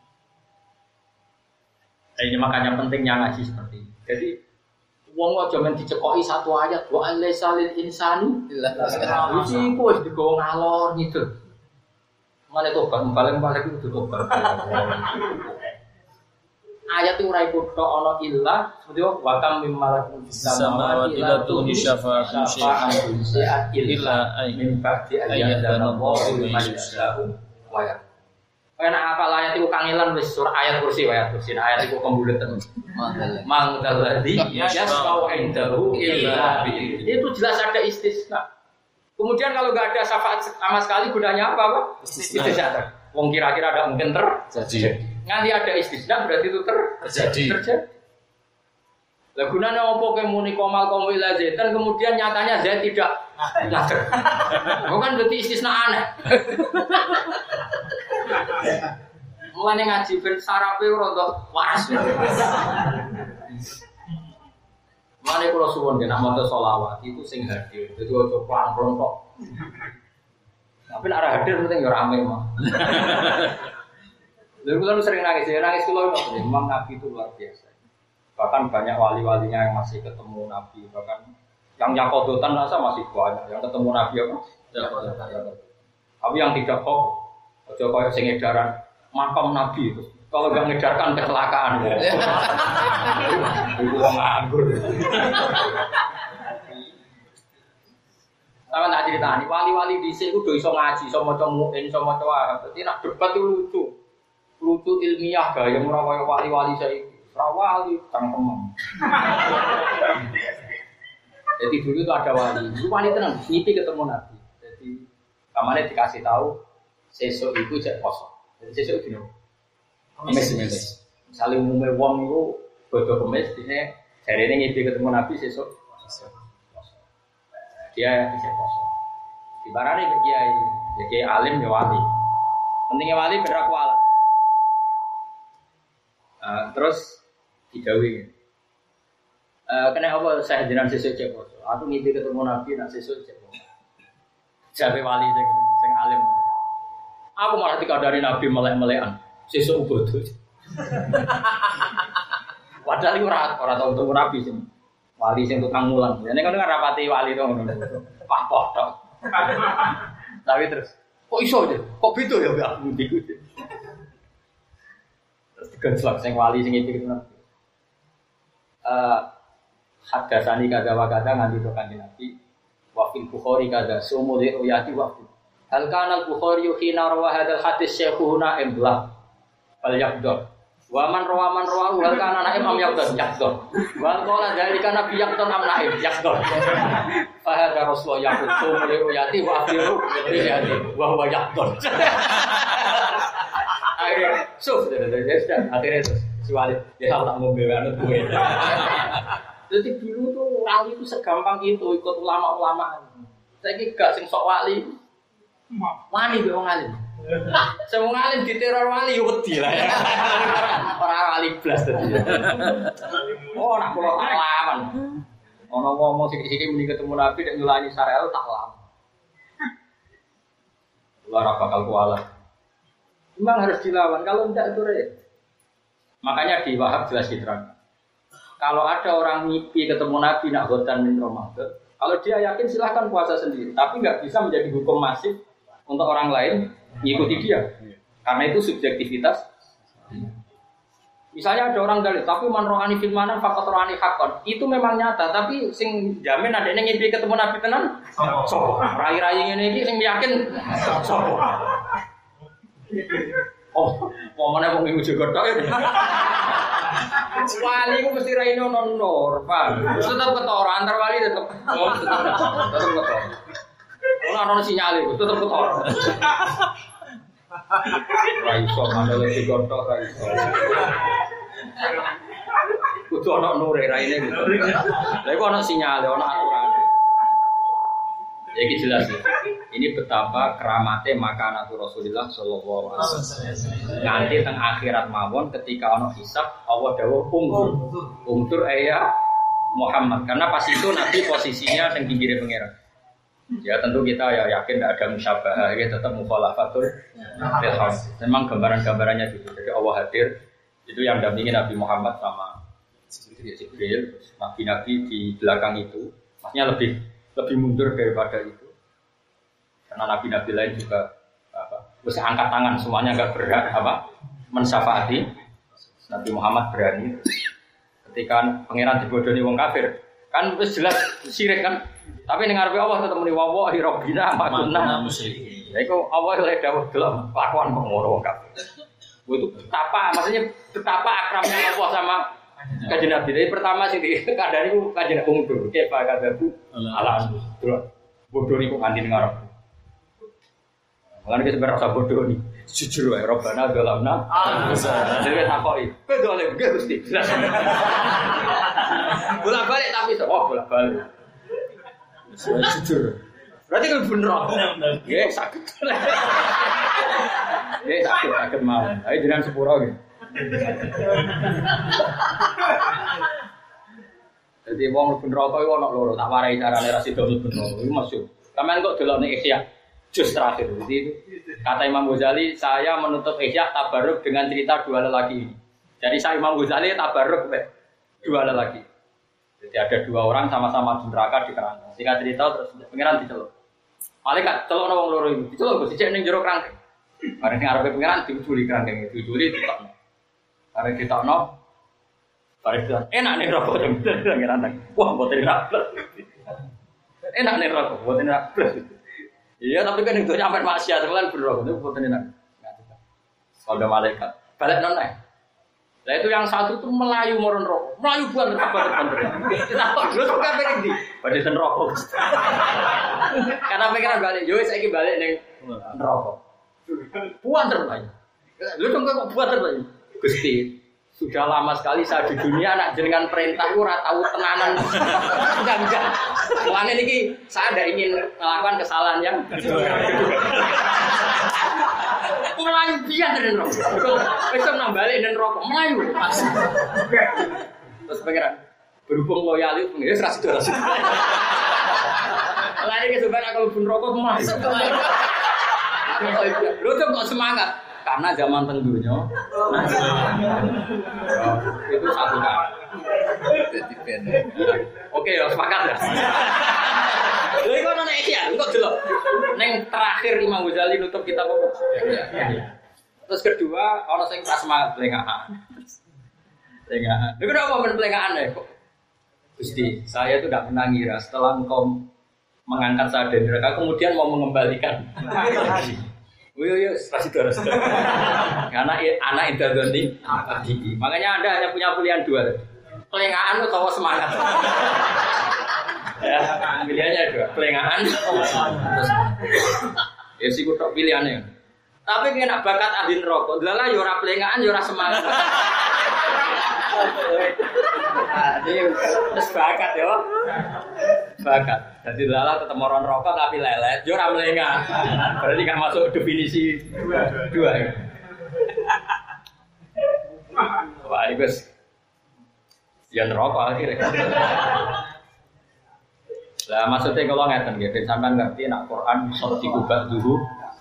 Ini makanya pentingnya ngaji seperti ini. Jadi wong aja men dicekoki satu ayat wa alaysa lil insani illa ma iki kok wis digowo ngalor gitu. Mane tobat balik-balik itu tobat. Ayat itu ora ikut tok ana illa seperti wa kam mim malakum fis samawati la tughni syafa'atum syai'an illa min ba'di ayyadana Allahu liman yasha'u wa yarda. Karena apa ayat itu kangelan wis surah ayat kursi ayat kursi ayat itu kembulatan. Mangdalladzi yasau indahu illa bi. Itu jelas ada istisna. Kemudian kalau enggak ada syafaat sama sekali gunanya apa, Pak? Istisna. Wong kira-kira ada mungkin terjadi. Nanti ada istisna berarti itu terjadi. Terjadi. Lah gunanya apa kowe muni komal komal ila zaitan kemudian nyatanya zait tidak ada. Bukan berarti istisna aneh. Mulane ngaji ben sarape ora waras. Mulane kula suwun nek maca selawat itu sing hadir. Dadi aja pelan-pelan kok. Tapi nek ora hadir penting ya rame mah. Lha kula sering nangis, ya nangis kula memang Nabi itu luar biasa. Bahkan banyak wali-walinya yang masih ketemu Nabi, bahkan yang yakodotan rasa masih banyak yang ketemu Nabi apa? Yakodotan. Tapi yang tidak kok aja koyo sing edaran makam Nabi itu. Kalau enggak ngedarkan kecelakaan. Itu wong nganggur. Sama tak ceritani, wali-wali dhisik ku do iso ngaji, iso maca muin, iso maca wahab. Dadi nak debat itu lucu. Lucu ilmiah gaya ora kaya wali-wali saiki. Ora wali cangkemem. Jadi dulu itu ada wali, itu wali tenang, ngipi ketemu Nabi. Jadi kamane dikasih tahu sesuk iku jek poso. Jadi sesuk dino. Kemis-kemis. Misale umume wong iku bodho kemis dine jarene ngipi ketemu Nabi sesuk. Dia bisa poso. Ibarane ke kiai, ya kiai alim ya wali. Pentingnya wali berak wala. Uh, terus digawe. Uh, kena apa saya jenengan sesuk cek poso. Aku ngipi ketemu Nabi nak sesuk cek poso. Jabe wali sing sing alim. Aku malah dikandani Nabi melek-melekan. Sesuk bodoh. Padahal iku ora ora tau ketemu Nabi sing wali sing tukang mulang. Nek ngono kan rapati wali to ngono. Pak potok. Tapi terus kok iso aja? Kok beda ya mbak aku ndiku. Terus digenslok sing wali sing iki ketemu Nabi. Eh hadasani kada wa kada nganti to kanjeng Nabi. Wa fil Bukhari kada sumule uyati waktu. Hal kana al-Bukhari hina rawa hadzal hadis syekhuna imbla. Fal yaqdur. Wa man rawa man rawa hal kana ana imam yaqdur yaqdur. Wa qala dzalika nabi yaqdur am naib yaqdur. Fa hadza rasul yaqdur sumule uyati wa akhiru uyati wa huwa yaqdur. Akhirnya suf akhirnya si Walid dia tahu tak mau bewanut gue. Jadi dulu tuh wali itu segampang itu ikut ulama-ulama. Saya kira gak sing sok wali. Wali be wong alim. Sing wong alim diteror wali yo wedi lah ya. Ora wali blas dadi. Oh nak kula alaman. Ono ngomong sithik-sithik muni ketemu Nabi nek nyulani Sarel tak lama. Ora bakal kualat. Memang harus dilawan kalau enggak itu repot. Makanya di Wahab jelas diterangkan. Kalau ada orang mimpi ketemu Nabi nak khotan min Ramadan, kalau dia yakin silahkan puasa sendiri, tapi nggak bisa menjadi hukum masif untuk orang lain mengikuti dia, karena itu subjektivitas. Misalnya ada orang dalil, tapi man rohani fil mana fakot rohani hakon, itu memang nyata, tapi sing jamin ada yang mimpi ketemu Nabi tenan, sopo, rai-rai ini sing yakin, sopo. Oh, momennya mau minggu juga tak ya? Wali ku mesti raino nonor, pak. Tetap ketora, antar wali tetap, oh tetap, tetap ketora. Kalau ada sinyal itu tetap ketora. Ra iso mandele dikontok ra iso. Kudu ana nure raine gitu. Lha iku ana sinyale, ana aturane. Ya iki jelas ya. Ini betapa keramatnya makanatu Rasulullah sallallahu alaihi wasallam. Nanti teng akhirat mawon ketika ana hisab Allah dawuh ungkur. Ungkur ayat Muhammad karena pas itu Nabi posisinya teng pinggire pangeran. Ya tentu kita ya yakin tidak ada musyabahah, ya tetap mukhalafatul ilham. Memang gambaran-gambarannya gitu. Jadi Allah hadir itu yang dampingi Nabi Muhammad sama Jibril, nabi-nabi di belakang itu, maksudnya lebih lebih mundur daripada itu. Karena nabi-nabi lain juga apa, terus angkat tangan semuanya enggak berhak apa mensyafaati. Nabi Muhammad berani. Ketika pangeran dibodohi wong kafir, kan wis jelas syirik kan. Tapi ning ngarepe Allah tetep muni wallahi rabbina ma kunna musyrikin. Ya iku Allah oleh dawuh delok kelakuan kok ngono wong kafir. Itu betapa maksudnya betapa akramnya Allah sama Kanjeng Nabi. Jadi pertama sing dikandani ku Kanjeng Nabi mundur. Ke pakadabu ala delok bodoh niku kanthi ning ngarep. Mulane kita berasa bodoh nih. Jujur wae Rabbana dzalamna anfusana. Dhewe takoki, "Kowe dolem nggih Gusti?" Bolak-balik tapi to, oh bolak-balik. Jujur. Berarti kan bener. Nggih, sakit. Nggih, sakit sakit mawon. Ayo jenengan sepuro nggih. Jadi wong mlebu neraka iku ana loro, tak warai carane ra sida mlebu neraka. Iku maksud. Sampeyan kok delokne Ihya juz terakhir. Jadi kata Imam Ghazali, saya menutup Ihya tabarruk dengan cerita dua lelaki ini. Jadi saya Imam Ghazali tabarruk be dua lelaki. Jadi ada dua orang sama-sama di neraka di kerangkeng. Singkat cerita terus pengiran diceluk. Malaikat celuk wong loro itu. Diceluk Gus dicek ning jero kerangkeng. Bareng sing arepe pengiran diuculi kerangkeng itu. Diuculi ditokno. Bareng ditokno bareng bilang, enak nih rokok jam pengiran. Wah, mboten enak. Enak nih rokok, mboten enak. Iya, tapi kan itu nyampe maksiat kan berrokok itu mboten enak. Kalau malaikat balik nonton. Nah itu yang satu tuh melayu moron rokok, melayu buan terbanter-banter. Kenapa? Lu tuh kan pengen di, pada ten rokok. Karena pengen balik, yo saya balik neng rokok. Buan terbanter. Lu tuh kok buan terbanter. Gusti, sudah lama sekali saya di dunia, nak jenengan perintah lu ora tahu tenanan. Enggak enggak. Mulane niki saya ada ingin melakukan kesalahan yang melayu biar dan rokok. Besok nambah dan rokok melayu. Terus pengiran berhubung loyal itu pengiran serasi serasi. Lari ke sebenarnya kalau pun rokok melayu. Lu tuh kok semangat karena zaman tenggunya. Itu satu kan. Oke ya sepakat ya. Lha iku ana nek ya, engko delok. Ning terakhir Imam Ghazali nutup kitab apa? Ya. Terus kedua, ana sing pas semangat plengahan. Plengahan. Lha kenapa men plengahan ya kok? Gusti, saya itu tidak pernah ngira setelah engkau mengangkat saya dari neraka kemudian mau mengembalikan. Oh iya, kasih terus. Karena anak interdoni, makanya Anda hanya punya pilihan dua. Plengahan atau semangat. Ya, pilihannya dua, pelengahan atau semangat. Ya sih kutok pilihannya. Tapi kena bakat ahli neraka, delalah yo ora pelengahan yo ora semangat. Ini wis bakat yo. Bakat. Jadi delalah tetep orang rokok tapi lelet, yo ora melengah. Berarti kan masuk definisi dua ya. Wah, ini guys. Ya neraka akhirnya. Lah maksudnya kalau ngeten nggih, ben sampean ngerti nek Quran iso dikubah dulu.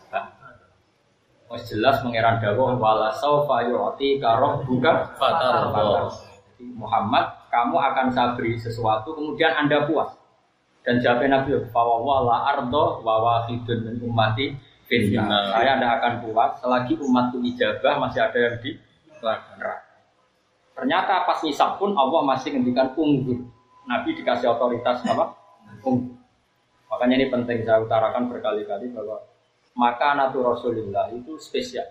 Wis jelas mengeran dawuh wala saufa yu'ti ka buka fatar. Muhammad, kamu akan saya beri sesuatu kemudian Anda puas. Dan jawab Nabi bahwa wala ardo wa wahidun min ummati finna. Saya tidak akan puas selagi umatku ijabah masih ada yang di neraka. Ternyata pas ngisab pun Allah masih ngendikan unggur. Nabi dikasih otoritas apa? Unggur. Makanya ini penting saya utarakan berkali-kali bahwa makanatu Rasulillah itu spesial.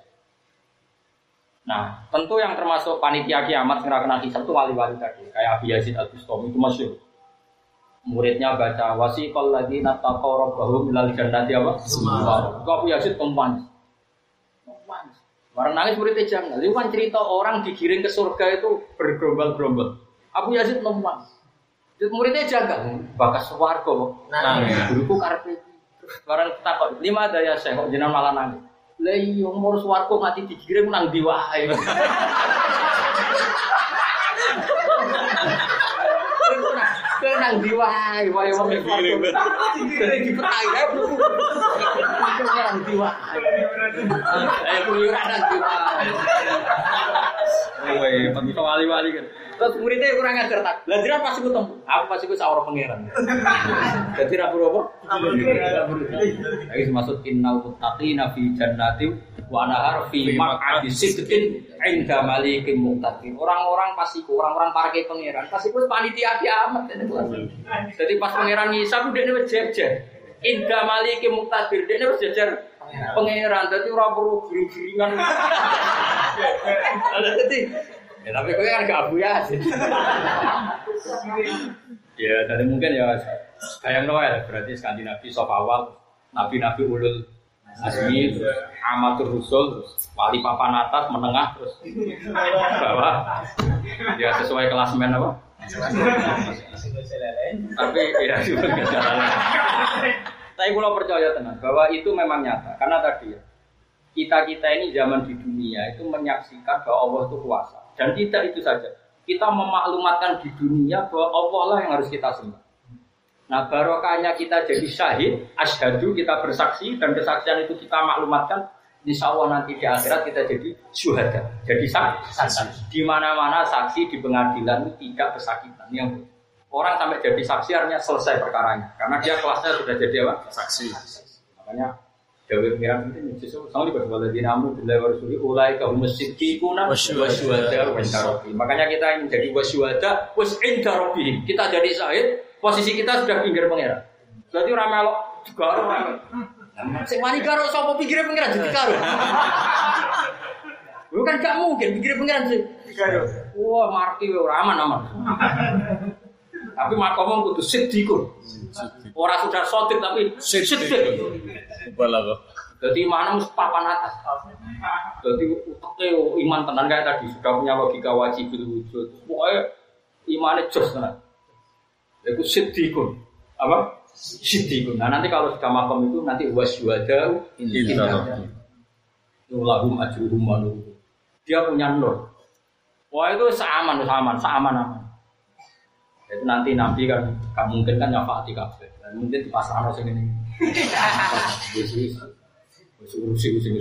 Nah, tentu yang termasuk panitia kiamat yang kena hisab itu wali-wali tadi, kayak Abi Yazid Al-Bustami itu masyhur. Muridnya baca wasiqal ladzina taqaw rabbahum ilal jannati apa? Semua. Abu Yazid umpan. nangis. Barang nangis muridnya jangan. Itu kan cerita orang digiring ke surga itu bergerombol-gerombol. Abu Yazid nangis. Muridnya jangan. Bakas swarga kok. Nangis. Guruku karepe. Barang takut. Lima daya saya kok jenengan malah nangis. Lah iya umur swarga mati digiring nang ndi wae. Kau nang diwai, wae wong iki. Dari dipetai ae bro. Kau nang diwai. Ayo keluyuran nang diwai. Woi, penting wali-wali kan. Terus muridnya kurang ajar tak. Lah jiran pasti ketemu. Aku pasti ku sawara pangeran. Dadi ra perlu apa? Iki maksud innal muttaqina fi jannati wa nahar fi maq'adi sidqin 'inda malikin muqtadir. Orang-orang pasiku, orang-orang parke pangeran. Pasiku panitia kiamat. Jadi pas pangeran ngisap dekne wis jejer. Inda malikin muqtadir. Dekne wis jejer pangeran. Dadi ora perlu giring-giringan. Dadi ya tapi kau kan gak Abu Yazid. Ya, jadi mungkin ya kayak Noel berarti Skandinavi soft awal, nabi-nabi ulul azmi, amatur rusul, wali papan atas, menengah terus bawah. Ya sesuai klasemen apa? Tapi ya juga nggak jalan. Tapi kalau percaya tenang bahwa itu memang nyata karena tadi ya kita kita ini zaman di dunia itu menyaksikan bahwa Allah itu kuasa. Dan tidak itu saja, kita memaklumatkan di dunia bahwa Allah lah yang harus kita sembah. Nah barokahnya kita jadi syahid, asyhadu kita bersaksi dan kesaksian itu kita maklumatkan. Insya Allah nanti di akhirat kita jadi syuhada, jadi saksi. Di mana-mana saksi di pengadilan itu tidak kesakitan. Yang orang sampai jadi saksi artinya selesai perkaranya, karena dia kelasnya sudah jadi apa? Saksi. Makanya Dewi Miran itu justru sama di beberapa dinamu bila warasuli ulai kaum musyriquna wasyuhada wasyarabi. Makanya kita menjadi wasyuhada wasyarabi. Kita jadi syahid, posisi kita sudah pinggir pangeran. Berarti ora melok garo. Sing wani garo sapa pinggire pangeran jadi garo. Bukan gak mungkin pinggire pangeran sih. Garo. Wah, marki ora aman-aman. Tapi makomong kudu siddiqun. Ora sudah sotik tapi siddiq. Balago. Jadi mana mus papan atas. Jadi uteknya iman tenan kayak tadi sudah punya logika wajib wujud. Pokoknya imannya jos tenan. Itu siddiqun. Apa? Siddiqun. Nah nanti kalau sudah makom itu nanti wasyuhada indah. Lahum ajruhum wa nuruhum. Dia punya nur. Wah itu seaman, seaman, seaman aman. Itu nanti nabi kan gak mungkin kan nyafaati kabeh. Mungkin di pasar ono sing ngene. Wis wis. Wis urusi-urusi.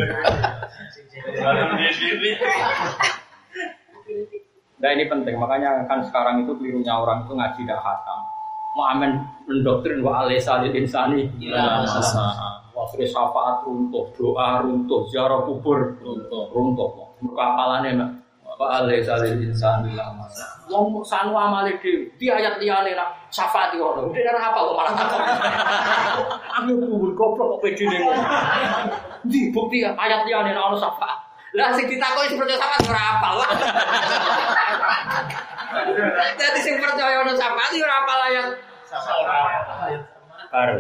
Nah ini penting, makanya kan sekarang itu kelirunya orang itu ngaji dak khatam. Mau amen mendoktrin wa alaysa lil insani illa ma sa'a. Wa syafaat runtuh, doa runtuh, ziarah kubur runtuh, runtuh. Mergo apalane wa alaysa lil insani illa ma sa'a. Wong sanu amale dhewe, di ayat liyane nak syafaat yo ono. Dhewe ora hafal kok malah takon. Aku kubur goblok kok pedine ngono. Di bukti ayat liyane nak ono syafaat. Lah sing ditakoki sing percaya syafaat ora hafal. Jadi sing percaya ono syafaat yo ora hafal ayat syafaat. Baru.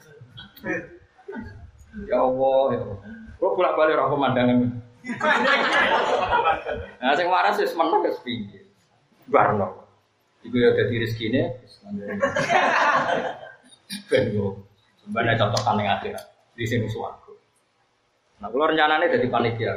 Ya Allah, ya Allah. Kok bolak-balik ora pemandangan. Nah sing waras wis meneng wis piye. Barno, itu ya jadi rezekine. Bengo, sebenarnya contoh kan yang akhirat di sini suaraku. Nah, kalau rencananya jadi panitia,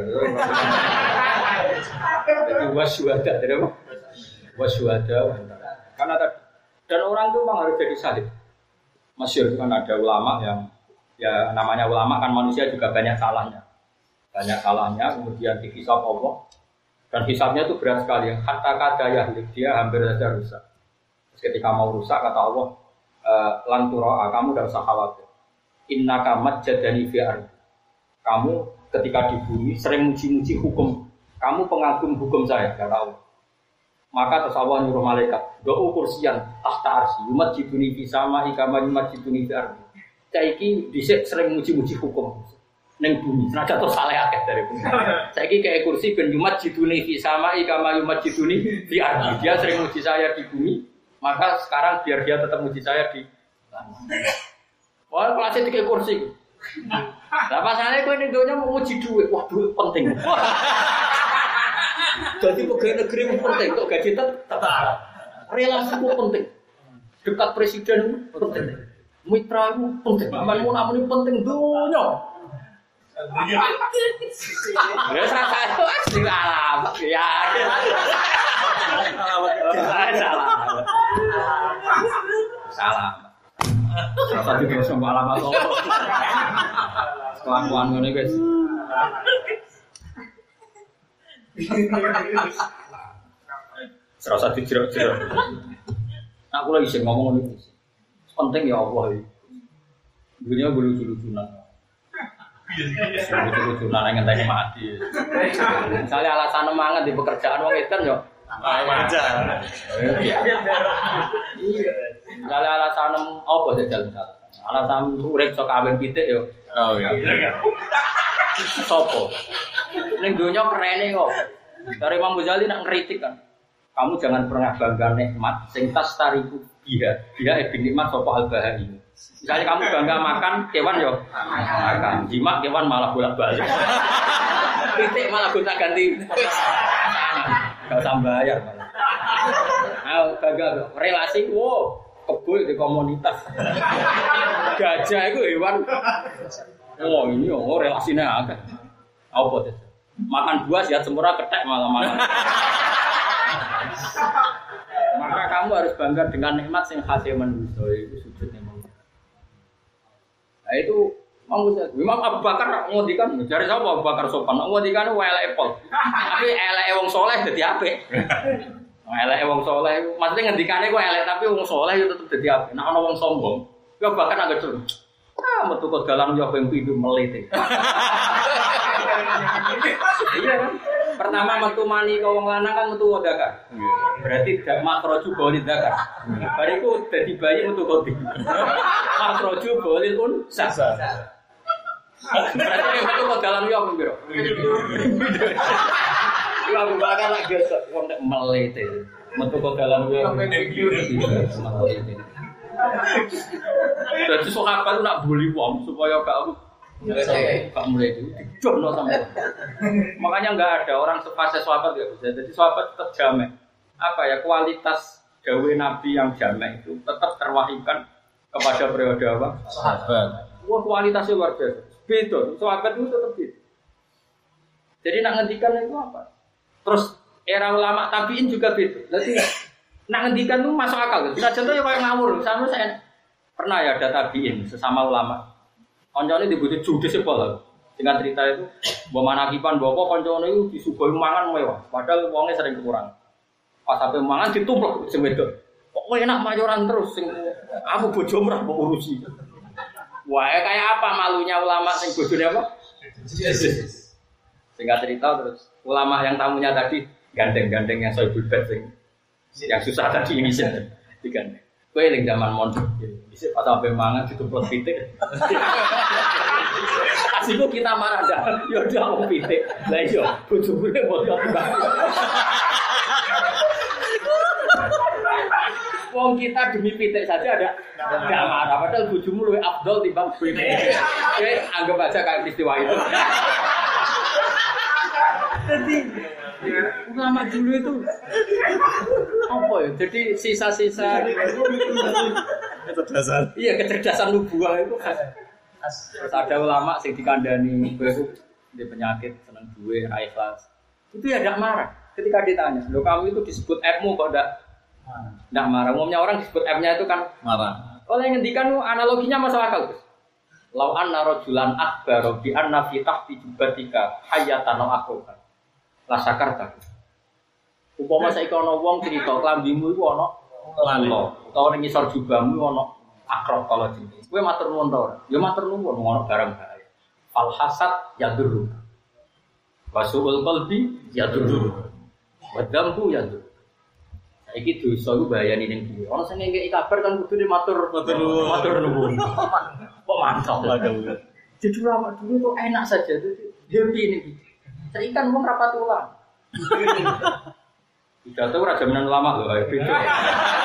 jadi wasyuhada, jadi apa? Wasyuhada, karena dan orang itu memang harus jadi syahid. Masyhur kan ada ulama yang, ya namanya ulama kan manusia juga banyak salahnya, banyak salahnya, kemudian dihisab Allah. Dan hisabnya itu berat sekali. Hatta kada yahlik, dia hampir saja rusak. Terus ketika mau rusak kata Allah, e, lanturoa, kamu tidak usah khawatir. Innaka majjadani fi ardi. Kamu ketika di bumi sering muji-muji hukum. Kamu pengagum hukum saya, kata Allah. Maka terus Allah nyuruh malaikat, do'u kursiyan tahta arsy, yumajjiduni fi sama'i kama yumajjiduni fi ardi. Saiki dhisik sering muji-muji hukum. Neng bumi, senajan terus salah akeh dari bumi. Saya ini kayak kursi ben yumat jiduni fi sama'i kama yumat jiduni fi ardi. Dia sering muji saya di bumi, maka sekarang biar dia tetap muji saya di langit. Wah, kelasnya tiga kursi. Lah pasane kowe ning donya mau nguji dhuwit, wah dhuwit penting. Jadi pegawai negeri penting, kok gaji tetap. Relasi itu penting. Dekat presiden penting. Mitra itu penting. Amanmu namun penting dunia. Ya rasa itu asli alam. Ya. Salah. Salah. Rasa juga semua alamat Allah. Kelakuan ngene guys. Serasa dijerok-jerok. Aku lagi sih ngomong ini. Penting ya Allah ini. Dunia lucu-lucunan. Lucu-lucunan yang ngenteni mati. Misalnya alasan mangan di pekerjaan wong edan yo. Wajar. Iya. Misalnya alasan apa jajal misalnya. Alasan urip sok kawin pitik yo. Oh iya. Sopo. Ning donya kerene kok. Dari Imam Ghazali nak ngritik kan. Kamu jangan pernah bangga nikmat sing tas tariku dia. Dia ibn nikmat sapa al-bahai. Misalnya kamu bangga makan kewan yo makan. Jima kewan malah bolak-balik. Pitik malah gonta-ganti. Enggak usah bayar malah. Ah, bangga relasi wo kebul di komunitas. Gajah itu hewan. Oh ini oh relasinya agak. Apa itu? Makan buah sihat sempurna ketek malah malah. Maka kamu harus bangga dengan nikmat yang khasnya manusia itu sujudnya manusia. Nah itu Imam Abu Bakar ngondikan dari siapa Abu Bakar sopan ngondikan elek Apple. Tapi elek wong soleh dadi apik. Elek wong soleh maksudnya ngendikane kok elek tapi wong soleh itu tetep dadi apik. Nek ana wong sombong, ya bahkan agak dulu. Ah metu kok dalan yo ping pindho melete. Iya kan? Pertama metu mani ke wong lanang kan metu wadakar. Berarti dak makroju boleh dakar. Bariku dadi bayi metu kodi. Makroju boleh pun sah. Berarti metu ke dalam yo piro? Yo aku bakal lak gesek wong nek melete. Metu ke dalam yo. Jadi sahabat itu nak bully wong supaya gak gak mulai itu dijono sama. Makanya enggak ada orang sefase sahabat enggak bisa. Jadi sahabat tetap jamek. Apa ya kualitas gawe Nabi yang jamek itu tetap terwahyukan kepada periode apa? Sahabat. Wah kualitasnya luar biasa. Beda. Sahabat itu tetap beda. Jadi nak ngendikan itu apa? Terus era ulama tabiin juga beda. Jadi nak ngendikan itu masuk akal. Bisa contoh ya kayak ngawur. Sama saya pernah ya ada tabiin sesama ulama. Koncone dibutuh judes sepol. Dengan cerita itu, bawa manakipan bawa koncone itu disuguhi mangan mewah. Padahal uangnya sering kurang. Pas sampai mangan ditumplek sing wedok. Kok enak mayoran terus sing aku bojo mrah mbok urusi. Wah, kayak apa malunya ulama sing bojone apa? Singkat cerita terus ulama yang tamunya tadi gandeng-gandeng yang soibul bed sing yang susah tadi ini sih digandeng. Kowe ning zaman mondok iki pas sampe mangan ditumplek pitik. Asiku kita marah dah. Ya udah wong pitik. Lah iya bojone bodoh banget. Wong kita demi pitik saja ada enggak marah padahal bojomu luwih afdol timbang pitik. Oke, anggap aja kayak peristiwa itu. Jadi ulama dulu itu apa ya? Jadi sisa-sisa kecerdasan. Iya, kecerdasan nubuah itu khas. Terus ada ulama sing dikandani kowe di penyakit seneng duwe ra ikhlas. Itu ya enggak marah ketika ditanya. Loh kamu itu disebut F-mu kok enggak enggak marah. Umumnya orang disebut F-nya itu kan marah. Oleh ngendikan analoginya masuk akal, Gus. Lau anna rajulan akbar bi anna fi tahti jubatika hayatan akhruka. La sakarta. Upama saiki ana wong crita klambimu iku ana lalo, utawa ning ngisor jubahmu ana akrok kala jenenge. Kowe matur nuwun ta ora? Ya matur nuwun ana barang bahaya. Al hasad yadur. Wasuul qalbi yadur. Wadambu yadur. Saiki dosa iku bahayane ning dhewe. Ana sing ngekeki kabar kan kudune matur matur nuwun. Matur nuwun. Kok mantap lho. Jadi lama dulu kok enak saja tuh. Happy ini. Terikan wong rapat ulang. Tidak tahu ora jaminan ulama lho, beda.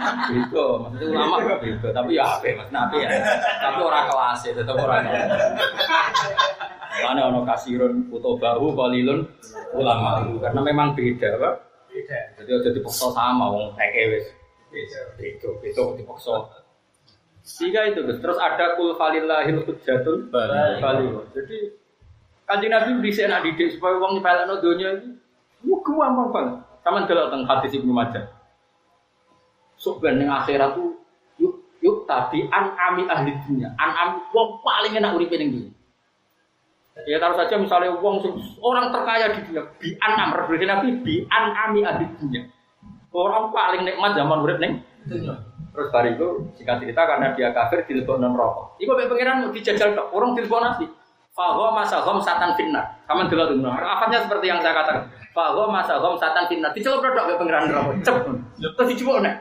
Itu maksudnya ulama itu, tapi ya apa mas nabi ya, tapi orang kelas ya, tetap orang kelas. Karena ono kasirun foto bahu balilun ulama karena memang beda pak. Beda. Jadi udah dipaksa sama wong teke wis. Itu itu dipaksa. Tiga itu terus ada kul falillahil hujjatul baligh. Jadi Kanjeng Nabi dhisik nak didik supaya wong nyepelekno donya iki yo gampang banget. Saman delok teng hadis Ibnu Majah. Sok ben ning akhirat tuh yuk yuk tabi an ami ahli dunya. An ami wong paling enak uripe ning dunya. Ya taruh saja misalnya wong orang terkaya di dunia bi an am referensi Nabi bi an ami ahli dunya. Orang paling nikmat zaman urip ning dunya. Terus bari itu singkat cerita karena dia kafir dilebokno neraka. Iku mek pangeran mau dijajal tok, orang dilebokno nasi. Fa gha masahum satan finnar. Kamen delok dulu. Afatnya seperti yang saya katakan. Fa gha masahum satan finnar. Diceluk tok mek pangeran neraka. Cep. Terus dicupukne.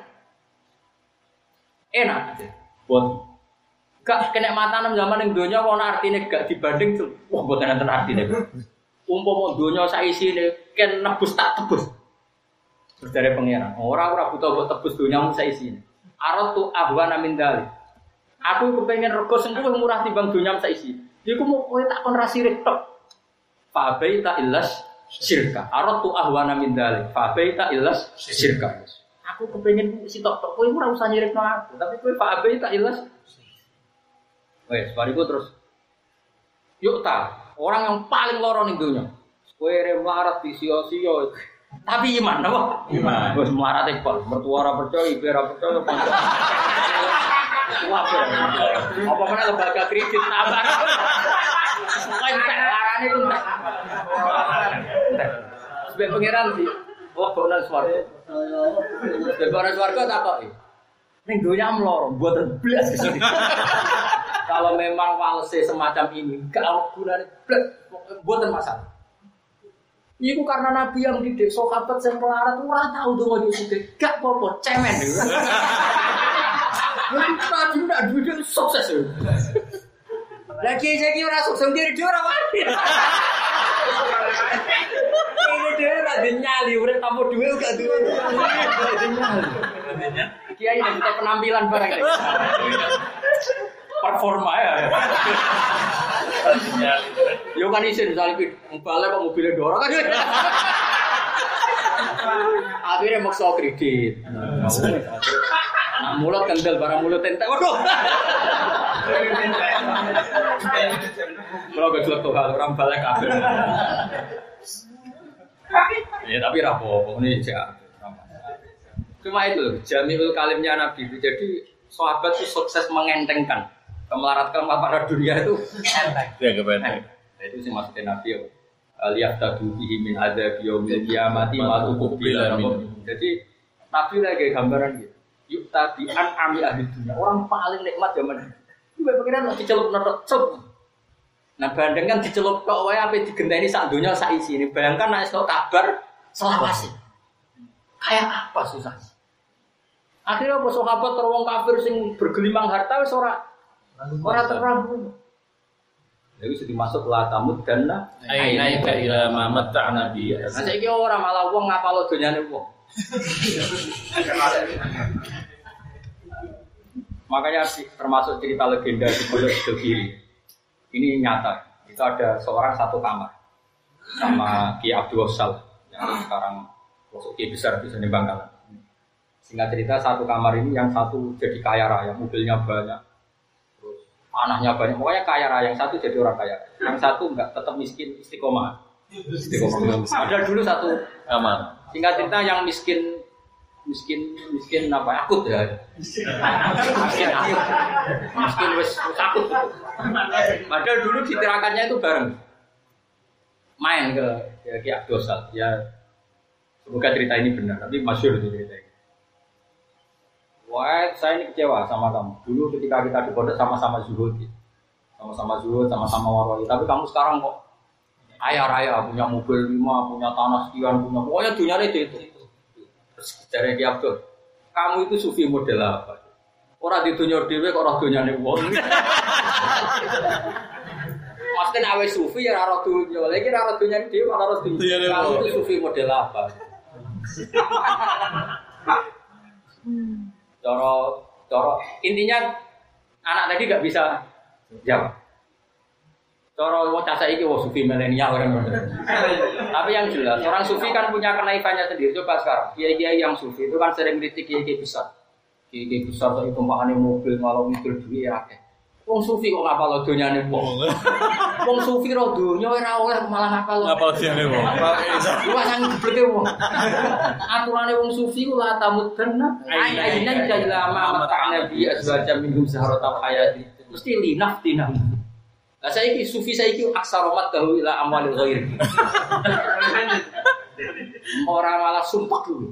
Enak. Buat gak kenikmatan zaman ning donya ana artine gak dibanding wah mboten enten artine. Umpama donya sak isine ken nebus tak tebus. Terus dari pangeran, ora ora butuh mbok tebus donyamu sak isine. Aratu ahwana min dalik. Aku kepengin rego sing luwih murah timbang donyamu sak isine. Iku mau kowe tak kon ra sirik tok. Fa baita illas syirka. Aratu ahwana min dalik. Fa baita illas syirka. Aku kepengin sitok tok kowe ora usah nyirikno aku, tapi kowe fa baita illas wes, bariku terus yuk ta, orang yang paling loro ning donya. Kowe re melarat di sio-sio. Tapi iman apa? Iman. Wes melarat e pol, mertua ora percaya, ibu ora percaya. Wae. Apa meneh lembaga kredit tambah. Kowe entek larane ku entek. Sebab pangeran di wah bonan swarga. Sebab bonan swarga tak kok. Ning donya mloro, mboten blas kesini. Kalau memang walse semacam ini, gak ada gunanya, buatan masalah. Itu karena Nabi yang didik sahabat yang melarat, orang tahu tuh mau diusik, gak apa-apa, cemen. Nabi tidak duit sukses. Lagi saya kira sukses diri dia orang mati. Ini dia ada nyali, udah tamu duit gak duit. Kiai ini kita penampilan barang ini. Performa ya. Yo kan isin misalnya balik kok mobilnya dorong kan. Akhirnya maksa kredit. Nah, mulut kendel barang mulut entek. Waduh. Kalau gak jelek tuh hal orang balik kabel. Ya tapi rapopo ini cek. Cuma itu Jamiul Kalimnya Nabi itu. Jadi sahabat itu sukses mengentengkan kemelaratkan para dunia itu ya kebetulan. Itu sih maksudnya Nabi ya. Lihat tadu bihi min ada biomil kiamati malu kubila. Jadi Nabi lagi gambaran gitu. Yuk tadi an ami ahli dunia orang paling nikmat zaman itu. Itu pikiran masih celup nerok celup. Nah bandingkan dicelup kok wae ape digenteni sak donya sak isine. Bayangkan nek esuk kabar selawase. Kayak apa susah. Akhirnya apa sahabat terwong kafir sing bergelimang harta wis ora ora terang. Jadi sudah masuk la tamud danna ainaika ila ma matta'na bi. Nah saiki ora malah wong ngapalo donyane wong. Makanya termasuk cerita legenda di Pondok Sidogiri. Ini nyata. Itu ada seorang satu kamar sama Ki Abdul Wasal yang sekarang masuk Ki besar di sini Bangkalan. Singkat cerita satu kamar ini yang satu jadi kaya raya, mobilnya banyak, terus anaknya banyak, pokoknya kaya raya. Yang satu jadi orang kaya, yang satu enggak, tetap miskin istiqomah. Istiqomah. Ada dulu satu kamar. Singkat cerita yang miskin, miskin, miskin apa? Akut ya. Miskin akut. Miskin wes akut. Padahal dulu ditirakannya itu bareng, main ke ya, Ki Abdul Wasal. Ya semoga cerita ini benar, tapi masyhur itu cerita ini. Wah, saya ini kecewa sama kamu. Dulu ketika kita di pondok sama-sama zuhud, sama-sama zuhud, sama-sama waroi. Tapi kamu sekarang kok kaya raya, punya mobil lima, punya tanah sekian, punya pokoknya dunia itu itu. Terus dari Ki Abdul, kamu itu sufi model apa? Orang di dunia dewe kok orang dunia nih wong. Maksudnya awe sufi ya orang dunia, lagi orang dunia dewe, orang dunia. Kamu itu sufi model apa? Coro, coro. Intinya anak tadi nggak bisa jawab. Coro mau casa iki wah sufi milenial kan. Tapi yang jelas orang sufi kan punya kenaikannya sendiri. Coba sekarang kiai-kiai yang sufi itu kan sering kritik kiai-kiai besar. Kiai-kiai besar itu tumpahane mobil malah mikir duit ya akeh. Wong sufi kok ngapal donyane wong. Wong sufi ro donya ora oleh malah ngapal. Ngapal donyane wong. Iku sang gebleke wong. Aturane wong sufi ku la tamudna ayyinan jalama mata'na bi azwajam minhum saharatal hayati. Mesti linaftina. Lah saiki sufi saiki aksaromat dahu ila amwalil ghair. Ora malah sumpah dulu.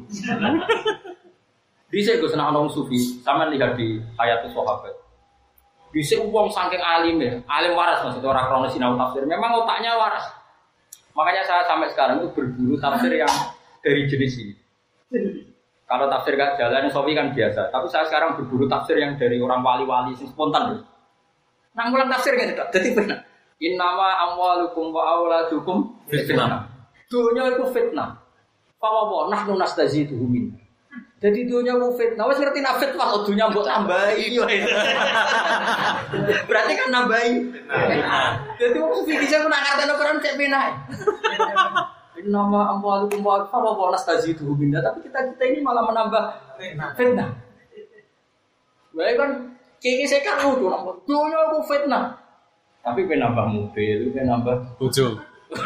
Bisa gue senang orang sufi, sama lihat di ayat sahabat. Bisa uang saking alim ya, alim waras maksudnya orang krono sinau tafsir. Memang otaknya waras. Makanya saya sampai sekarang itu berburu tafsir yang dari jenis ini. Kalau tafsir gak jalan, Sofi kan biasa. Tapi saya sekarang berburu tafsir yang dari orang wali-wali, yang spontan. Nang ulang tafsir kan tidak. Jadi benar. Innama amwalukum wa auladukum fitnah. Dunia itu fitnah. Fawawa nahnu nastaziduhu min. Jadi dunia mau fitnah, wes ngerti nak fitnah kalau dunia buat nambahin, berarti kan nambahin. Jadi waktu fikir saya pun angkatan ukuran cek penai. Nama amwal kumwal apa polas taji itu benda, tapi kita kita ini malah menambah fitnah. Baik kan, kiki saya kan udah nambah dunia mau fitnah, tapi penambah mobil, penambah bojo.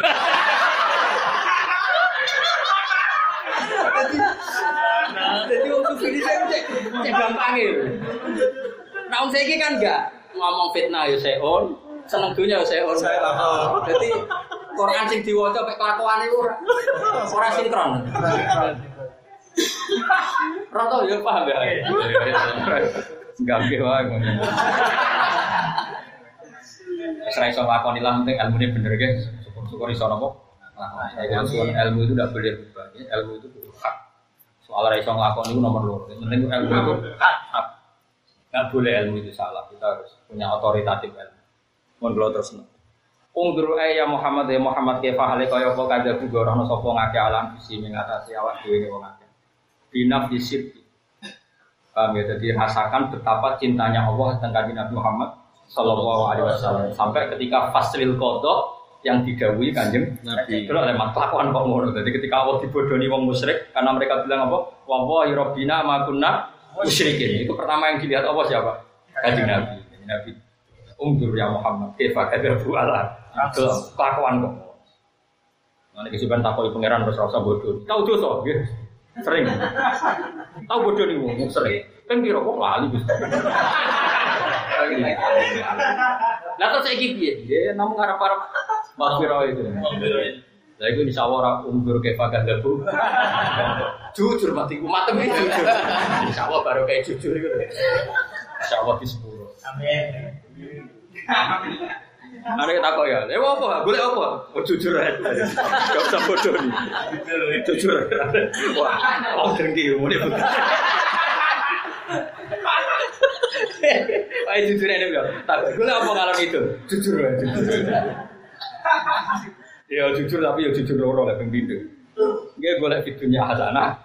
Jadi waktu ini saya cek cek gampang ya. Nah om saya kan enggak ngomong fitnah ya seon, seneng dunia ya seon. Jadi Quran sing diwaca mek kelakuane ora ora sinkron. Roto ya paham ya. Gampang wae ngono. Wis iso lakoni lah penting ilmune bener ge. Syukur-syukur iso napa? Lakoni. Ilmu itu tidak boleh berubah. Ilmu itu hak. Soal iso nglakoni itu nomor loro. Penting ilmu itu hak. Enggak boleh ilmu itu salah. Kita harus punya otoritatif ilmu. Mun kula terus. Ungdur ya Muhammad ya Muhammad kefa hale kaya apa kadhe gorono sapa ngake alam bisi mengatasi awak dhewe wong akeh. Binaf disip. Paham ya, jadi rasakan betapa cintanya Allah tentang Nabi Muhammad sallallahu alaihi wasallam sampai ketika faslil qada yang didhawuhi Kanjeng Nabi. Itu lewat kelakuan kok ngono. Jadi ketika Allah dibodoni wong musyrik karena mereka bilang apa? Wallahi rabbina ma kunna musyrikin. Itu pertama yang dilihat Allah siapa? Kanjeng Nabi. Kanjeng Nabi. Ungdur ya Muhammad kefa kadzabu ala. Itu kelakuan kok. Nek kesiban takoki pangeran terus rasa bodoh. Tahu dosa nggih. Sering. Tahu bodoh nih wong sering. Kan piro kok lali Gus. Lah terus saiki piye? Ya namung arep-arep maghfirah itu. Lah iku insyaallah ora umur kefa kadzabu. Jujur mati ku matem iki jujur. Insyaallah baru kayak jujur iku. Insyaallah di sepuro. Amin. Ada kita kok ya, eh apa? Boleh apa? Oh jujur aja, gak usah bodoh nih. Jujur, wah, oh dengki, mau dia. Wah jujur aja bilang, tak boleh apa kalau itu? Jujur aja. Ya jujur tapi ya jujur loro lah pembindu. Gak boleh videonya hasanah.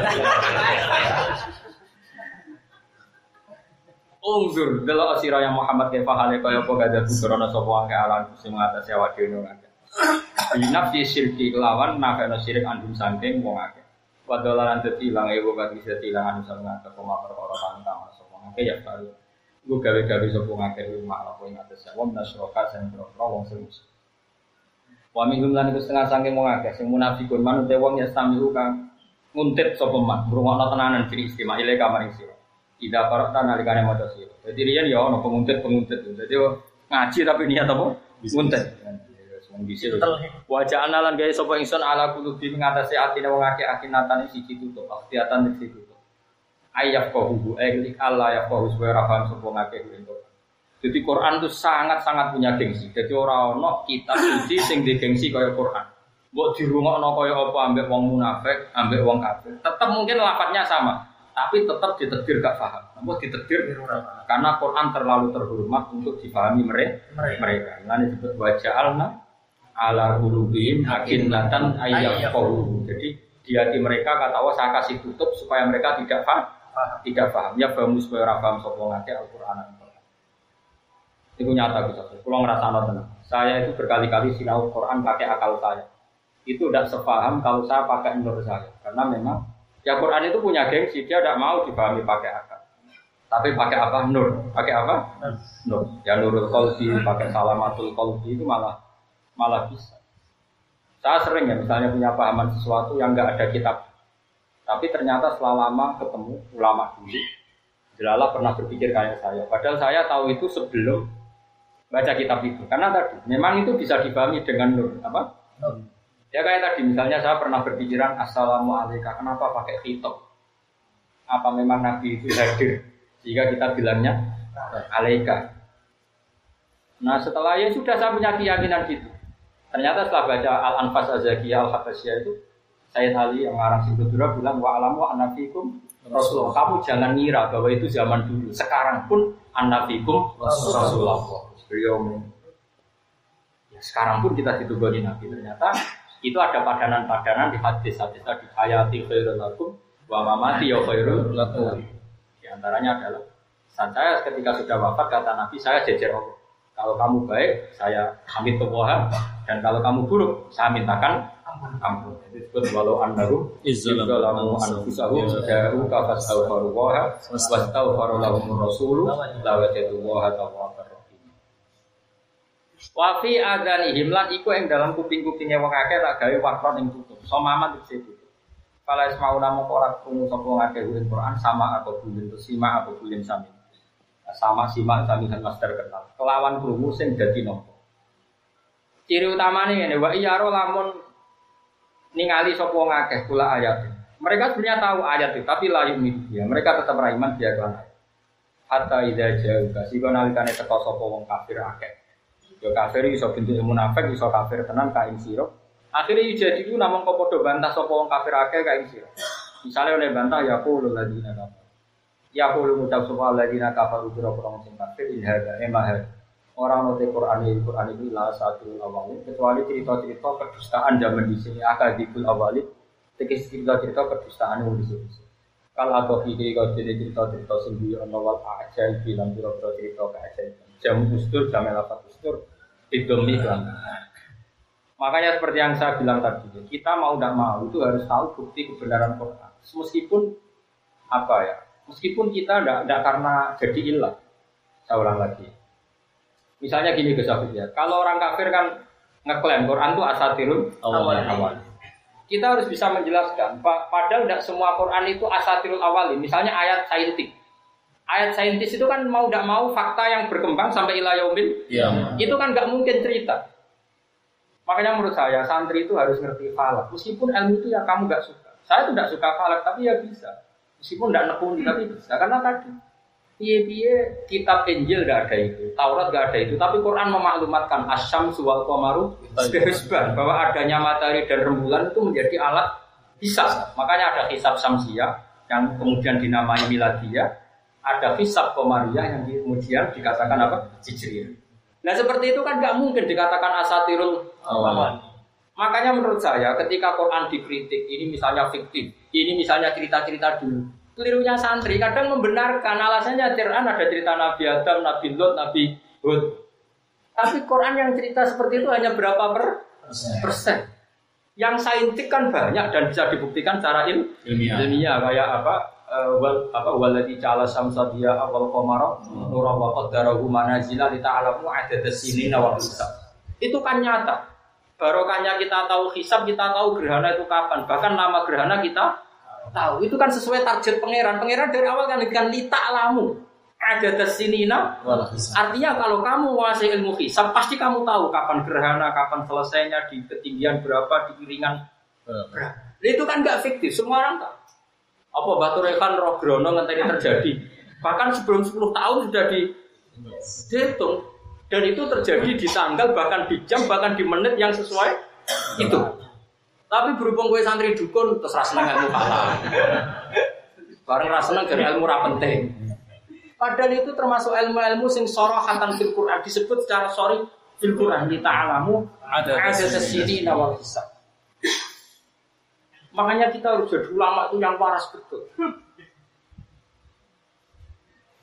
Ungzur delok sira yang Muhammad kefa hale kaya apa gadar bukrana sapa wae alam sing ngatasi awak dhewe ngake. Binaf di syirki lawan nafana syirik andum saking wong akeh. Wadalan dadi ilang ewo kan bisa ilang anu sang ngake koma perkara kang sapa ngake ya baru. Nggo gawe-gawe sapa ngake rumah apa ing atas wong nasroka sing wong sing. Wa minhum lan iku setengah saking wong akeh sing munafikun manut wong ya samiru kang nguntit sapa man ngrungokno tenanan diri istimewa ile kamar sira. Tidak parata nalikane maca sira. Dadi riyen ya ana penguntit-penguntit. Dadi ngaji tapi niat apa? Nguntit. Wong dhisik. Wa ja'alna lan gawe sapa ingsun ala kulubi ngatasi atine wong akeh akinatan siji tutup, akhiatan siji tutup. Ayat qahu ayat Allah ya qahu wa rahman sapa ngakeh itu. Jadi Quran itu sangat-sangat punya gengsi. Jadi ora ana kitab suci sing digengsi kaya Quran. Mbok dirungokno kaya apa ambek wong munafik, ambek wong kafir. Tetap mungkin lafadznya sama. Tapi tetap ditakdir gak paham. Namun ditakdir karena Quran terlalu terhormat untuk dipahami mereka. Mereka. Lalu disebut waja'alna ala qulubihim akinnatan ayyafqahu. Jadi di hati mereka kata Allah saya kasih tutup supaya mereka tidak paham. tidak paham. Ya paham supaya ora paham sapa ngake Al-Qur'an. Itu nyata gitu. Kalau ngerasa tenang. Saya itu berkali-kali sinau Quran pakai akal saya. Itu tidak sepaham kalau saya pakai nur saya. Karena memang ya Quran itu punya gengsi, dia tidak mau dipahami pakai akal. Tapi pakai apa? Nur. Pakai apa? Nur. Ya nurul qalbi, pakai salamatul qalbi itu malah malah bisa. Saya sering ya misalnya punya pahaman sesuatu yang enggak ada kitab. Tapi ternyata setelah lama ketemu ulama dulu, jelalah pernah berpikir kayak saya. Padahal saya tahu itu sebelum baca kitab itu. Karena tadi memang itu bisa dipahami dengan nur. Apa? Nur. Ya kayak tadi misalnya saya pernah berpikiran assalamualaikum. Kenapa pakai khitab? Apa memang Nabi itu hadir? Jika kita bilangnya alaika. Nah setelah ya sudah saya punya keyakinan gitu. Ternyata setelah baca Al-Anfas Az-Zakiyah Al-Habasyiyah itu Sayyid Ali yang ngarang Sibudura bilang wa alamu annafikum Rasulullah. Kamu jangan ngira bahwa itu zaman dulu. Sekarang pun annafikum Rasulullah. Beliau ya, sekarang pun kita ditugani Nabi. Ternyata itu ada padanan-padanan di hadis-hadis tadi hayati khairul lakum wa mamati ya khairul lakum. Di antaranya adalah saat saya ketika sudah wafat kata Nabi saya jejer Allah. Kalau kamu baik saya hamid Allah dan kalau kamu buruk saya mintakan ampun. Itu disebut walau annahu izzalamu anfusahum ja'u ka fastaghfiru wa wastaghfara lahum rasul la wajadu wa tawwabur rahim. Wa fi adanihim lan iku ing dalam kuping-kupinge wong akeh tak gawe wakron ing tutup. Somaman disitu. Fala ismauna moko ora krungu sapa ngakeh Quran sama atau bulin to sima atau bulin sami. Sama sima sami kan master kenal. Kelawan krungu sing dadi nopo. Ciri utamane ngene wa iyaro lamun ningali sapa ngakeh kula ayat. Mereka sebenarnya tahu ayat itu tapi la yu'min dia. Mereka tetap beriman dia kan. Hatta idza ja'uka sika nalikane teka sapa wong kafir akeh. Ya kafir iso bentuk munafik iso kafir tenan ka ing sira. Akhire jadi ku namung kok padha bantah sapa wong kafir akeh ka ing sira. Misale oleh bantah ya qulul ladina kafir. Ya qulul mutafsifal ladina kafaru bi rabbihim sing kafir in hadza emah. Orang note Quran ini Quran itu lah satu awalnya kecuali cerita-cerita kedustaan zaman di sini akadikul awali tekis cerita-cerita kedustaan yang di sini. Kalau atau ide kalau cerita-cerita sendiri awal aja bilang cerita cerita aja jam ustur jam lapat ustur idomi kan. Makanya seperti yang saya bilang tadi, kita mau tidak mau itu harus tahu bukti kebenaran Quran. Meskipun apa ya, meskipun kita tidak tidak karena jadi ilah. Saya ulang lagi. Misalnya gini Gus Afif ya, kalau orang kafir kan ngeklaim Quran itu asatirul awal. awal. Kita harus bisa menjelaskan, padahal tidak semua Quran itu asatirul awal. Misalnya ayat saintik. Ayat saintis itu kan mau tidak mau fakta yang berkembang sampai ila yaumil. Ya. Itu kan nggak mungkin cerita. Makanya menurut saya santri itu harus ngerti falak. Meskipun ilmu itu yang kamu nggak suka. Saya tuh tidak suka falak, tapi ya bisa. Meskipun tidak nekuni, tapi bisa. Karena tadi piye-piye kitab Injil enggak ada itu, Taurat enggak ada itu, tapi Quran memaklumatkan asyamsu wal qamaru bihisban bahwa adanya matahari dan rembulan itu menjadi alat hisab. Makanya ada hisab samsiyah yang kemudian dinamai miladiyah, ada hisab qamariyah yang kemudian dikatakan apa? Hijriyah. Nah, seperti itu kan enggak mungkin dikatakan asatirul awal. Makanya menurut saya ketika Quran dikritik, ini misalnya fiktif, ini misalnya cerita-cerita dulu. Kelirunya santri kadang membenarkan alasannya Quran ada cerita Nabi Adam, Nabi Lot, Nabi Hud. Tapi Quran yang cerita seperti itu hanya berapa per persen? persen. Yang saintik kan banyak dan bisa dibuktikan secara il ilmiah. ilmiah kayak apa? Uh, wal apa walati ja'ala samsa diya wal qamara nuran wa qaddarahu manazila li ta'lamu adadas sinina wal hisab. Itu kan nyata. Barokahnya kita tahu hisab, kita tahu gerhana itu kapan. Bahkan nama gerhana kita tahu. Itu kan sesuai target pangeran. Pangeran dari awal kan kan lita alamu ada tesinina. Artinya kalau kamu menguasai ilmu hisab pasti kamu tahu kapan gerhana, kapan selesainya, di ketinggian berapa, di iringan berapa. Itu kan nggak fiktif, semua orang tahu. Apa Batu Rekan roh grono ngenteni terjadi. Bahkan sebelum sepuluh tahun sudah dihitung dan itu terjadi di tanggal, bahkan di jam, bahkan di menit yang sesuai itu. Tapi berhubung gue santri dukun terus raseneng ilmu kata. Bareng raseneng dari ilmu ra penting. Padahal itu termasuk ilmu-ilmu sing sorohatan fil Quran disebut secara sorry fil Quran li ta'lamu ada tasydina wal hisab. Makanya kita harus jadi ulama itu yang waras betul.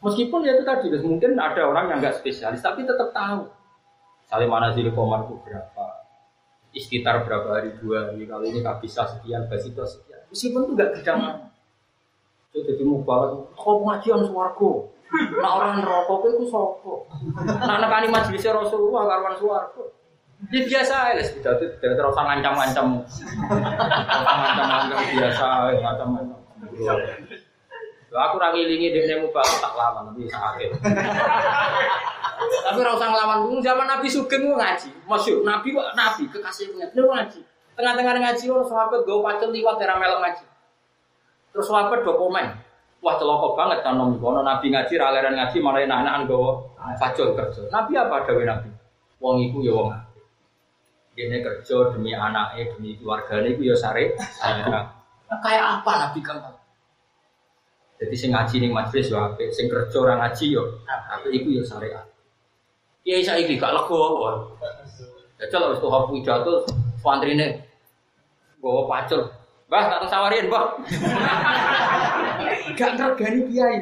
Meskipun ya itu tadi, mungkin ada orang yang nggak spesialis, tapi tetap tahu. Saling mana sih komarku berapa, istitar berapa hari dua hari, kalau ini nggak bisa sekian, basito sekian. Meskipun itu nggak bidang. Itu jadi mubarak, kau pengajian suwargo. Nah orang rokok itu sopo. Nah nekani majelis Rasulullah karuan suwargo. Ya biasa aja, sudah itu tidak terus ngancam-ngancam, ngancam-ngancam biasa, ngancam-ngancam. Aku rangilingi dia mubarak tak lama nanti sakit. Tapi rasa ngelawan zaman Nabi Sugeng ngaji, masyhur Nabi kok Nabi kekasihnya dia ngaji. Tengah-tengah ngaji orang sahabat gawe pacul liwat era melok ngaji. Terus sahabat dokumen. Wah celaka banget kan nom kono Nabi ngaji ra leren ngaji malah anak-anakan gawa pacul kerja. Nabi apa dawuh Nabi? Wong iku ya wong apik. Dene kerja demi anaknya, demi keluargane iku ya sare. Nah, kayak apa Nabi kan? Jadi sing ngaji ning majelis yo apik, sing kerja ora ngaji yo apik iku yo syariat. Kiai saiki gak lego wae. Jajal wis tuh pidato santrine gowo pacul. Mbah tak sawarin, Mbah. Gak ngergani kiai.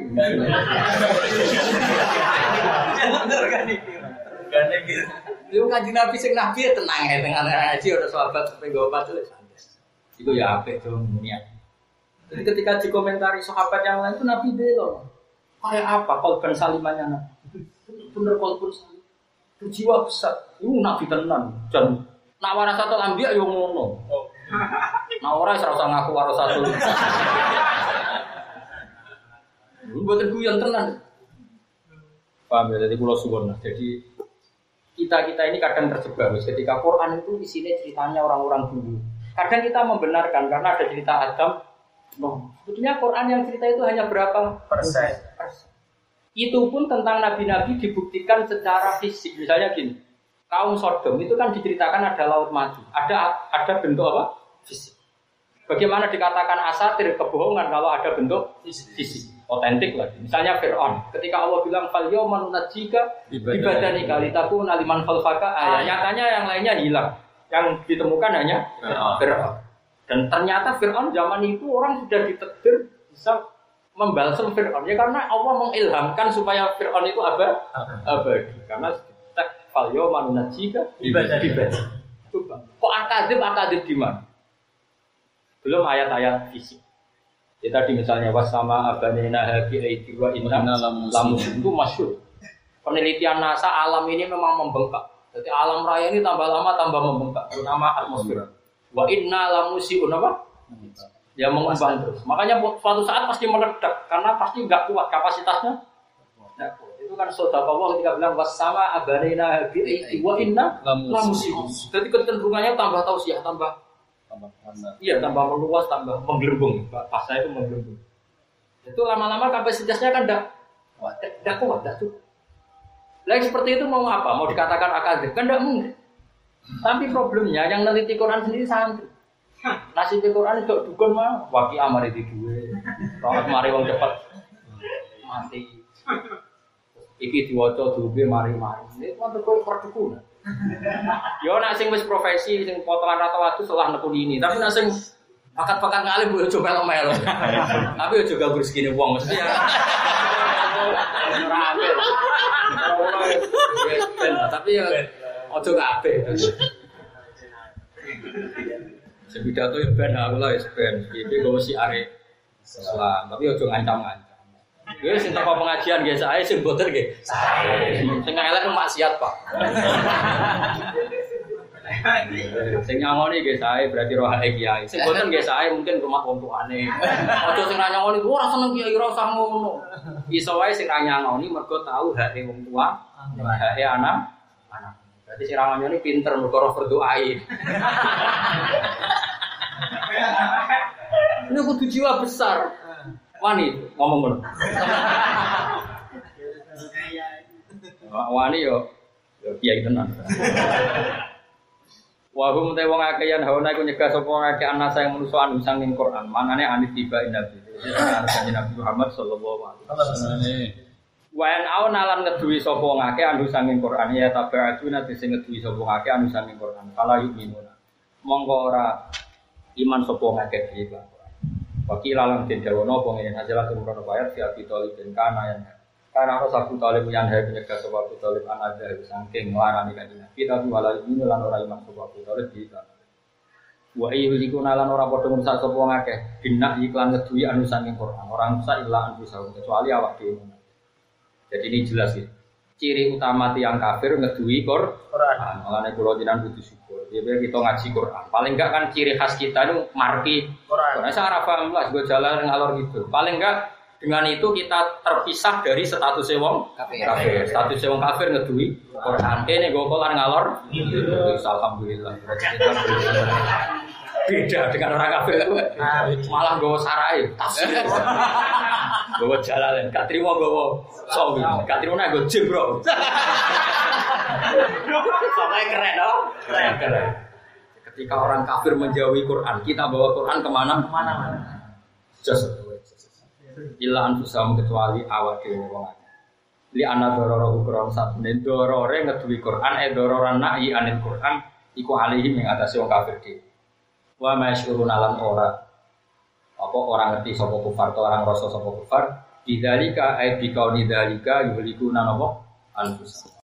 Gak ngergani. Gane gitu. Lu Kanjeng Nabi sing nabi tenang ae teng ngaji ora sahabat pengen gowo pacul santai. Iku ya apik to niat. Jadi ketika dikomentari sahabat yang lain itu Nabi belo. Kayak apa kolban salimannya Nabi? Bener kolban salim. Itu jiwa besar. Itu Nabi tenan. Dan nak warasatul anbiya yo ngono. Nah ora ora usah ngaku warasatul. Lu boten guyon tenan. Paham ya, jadi kula suwun. Jadi kita-kita ini kadang terjebak ketika Quran itu isinya ceritanya orang-orang dulu. Kadang kita membenarkan karena ada cerita Adam. No. Sebetulnya Quran yang cerita itu hanya berapa persen? persen. Itu pun tentang nabi-nabi dibuktikan secara fisik. Misalnya gini, kaum Sodom itu kan diceritakan ada laut mati, ada ada bentuk apa? Fisik. Bagaimana dikatakan asatir kebohongan kalau ada bentuk fisik? Otentik lagi. Misalnya Fir'aun, ketika Allah bilang fal yawma nunajjika bibadanika litakuna liman khalfaka ayat. Nyatanya yang lainnya hilang. Yang ditemukan hanya Fir'aun. Dan ternyata Fir'aun zaman itu orang sudah ditakdir bisa membalsam Fir'aun. Ya karena Allah mengilhamkan supaya Fir'aun itu abadi. abadi. Karena tak falyo manunajika ibadah. Kok akadib akadib di mana? Belum ayat-ayat fisik. Ya tadi misalnya wasama abanina haqi aidi wa inna lamus itu masyhur. Penelitian NASA alam ini memang membengkak. Jadi alam raya ini tambah lama tambah membengkak, terutama atmosfer. Wa inna lamusiun apa? Ya mengembang terus. Makanya suatu saat pasti meledak karena pasti enggak kuat kapasitasnya. Enggak kuat. Itu kan saudara Allah ketika bilang wasama abanina bi aidi wa inna lamusiun. Jadi kecenderungannya tambah tausiah, tambah tambah iya, tambah meluas, tambah menggelembung. Bahasa itu menggelembung. Itu lama-lama kapasitasnya kan enggak kuat, enggak kuat, enggak cukup. Lagi seperti itu mau apa? Mau dikatakan akademik? Kan enggak mungkin. Tapi problemnya yang neliti Quran sendiri santri. Nasib Quran itu dukun mah waki amari di duwe. Rohat mari wong cepat mati. Iki diwaca duwe mari-mari. Ini kan terkait perdukunan. Yo nek sing wis profesi sing potongan rata waktu setelah nekuni ini. Tapi nek sing bakat-bakat ngalim yo coba melo. Tapi yo juga rezekine wong mesti ya. Ora apik. Tapi ya ojo kabeh. Sepidato ya ben aku lah wis ben. Iki go si are Islam, tapi ojo ngancam-ngancam. Gue sing teko pengajian nggih sae sing boten nggih. Sae. Sing elek maksiat, Pak. Sing nyangoni nggih sae berarti rohae kiai. Sing boten nggih sae mungkin rumah wong tuane. Aja sing nyangoni ora seneng kiai ora usah ngono. Iso wae sing nyangoni mergo tahu hake wong tua, hake anak, anak. Berarti sing nyangoni pinter mergo ora berdoai. Ini kudu jiwa besar. Wani ngomong ngono. Wani yo yo kiai tenan. Wa hum te wong akeh yen hawana iku nyegah sapa akeh anasa yang manusa anu sanging Quran. Manane anit tiba nabi. Kanjeng Nabi Muhammad sallallahu alaihi wasallam. Wa an auna lan ngeduwi sapa akeh anu sanging Quran ya tabi'atu nate sing ngeduwi sapa akeh anu sanging Quran. Kala yu'minuna. Monggo ora iman sapa akeh iki. Wakil alam den dawono apa ngene hasil kemurono bayar si abi toli den kana yang Karena harus Abu Talib yang hari penyegah sebab Abu Talib anak ada saking ngelarani kanjeng Nabi tapi walau ini lan ora iman sebab Abu Talib kita. Wa ayyuliku nalan ora padha ngrusak sapa wong akeh binak iklan ngeduwi anu saking Quran. Orang sak ilah anu sawung kecuali awak dhewe. Jadi ini jelas ya. Ciri utama tiang kafir ngeduwi Quran. Mulane kula jenengan kudu syukur. Ya kita ngaji Quran. Paling enggak kan ciri khas kita itu marki Quran. Saya ora paham lah gue jalan ngalor gitu. Paling enggak dengan itu kita terpisah dari status wong kafir. kafir. Status wong kafir ngeduwi Quran. Kene go kolan ngalor. Alhamdulillah. Beda dengan orang kafir itu. Malah go sarai, tas. Go jalan, gak trimo go sawi. Gak trimo nek go jebro. Sampai keren loh. Keren, keren. Ketika orang kafir menjauhi Quran, kita bawa Quran kemana? Kemana-mana. Just illa anfusahum kecuali awak dhewe wong akeh. Li ana dororo ukron sabene dorore ngeduwi Quran e dororan nahi anil Quran iku alihim ing atase wong kafir dhewe. Wa masyurun alam ora. Apa orang ngerti sapa kufar atau orang rasa sapa kufar? Bidzalika ay biqauli dzalika yuhlikuna napa anfusahum.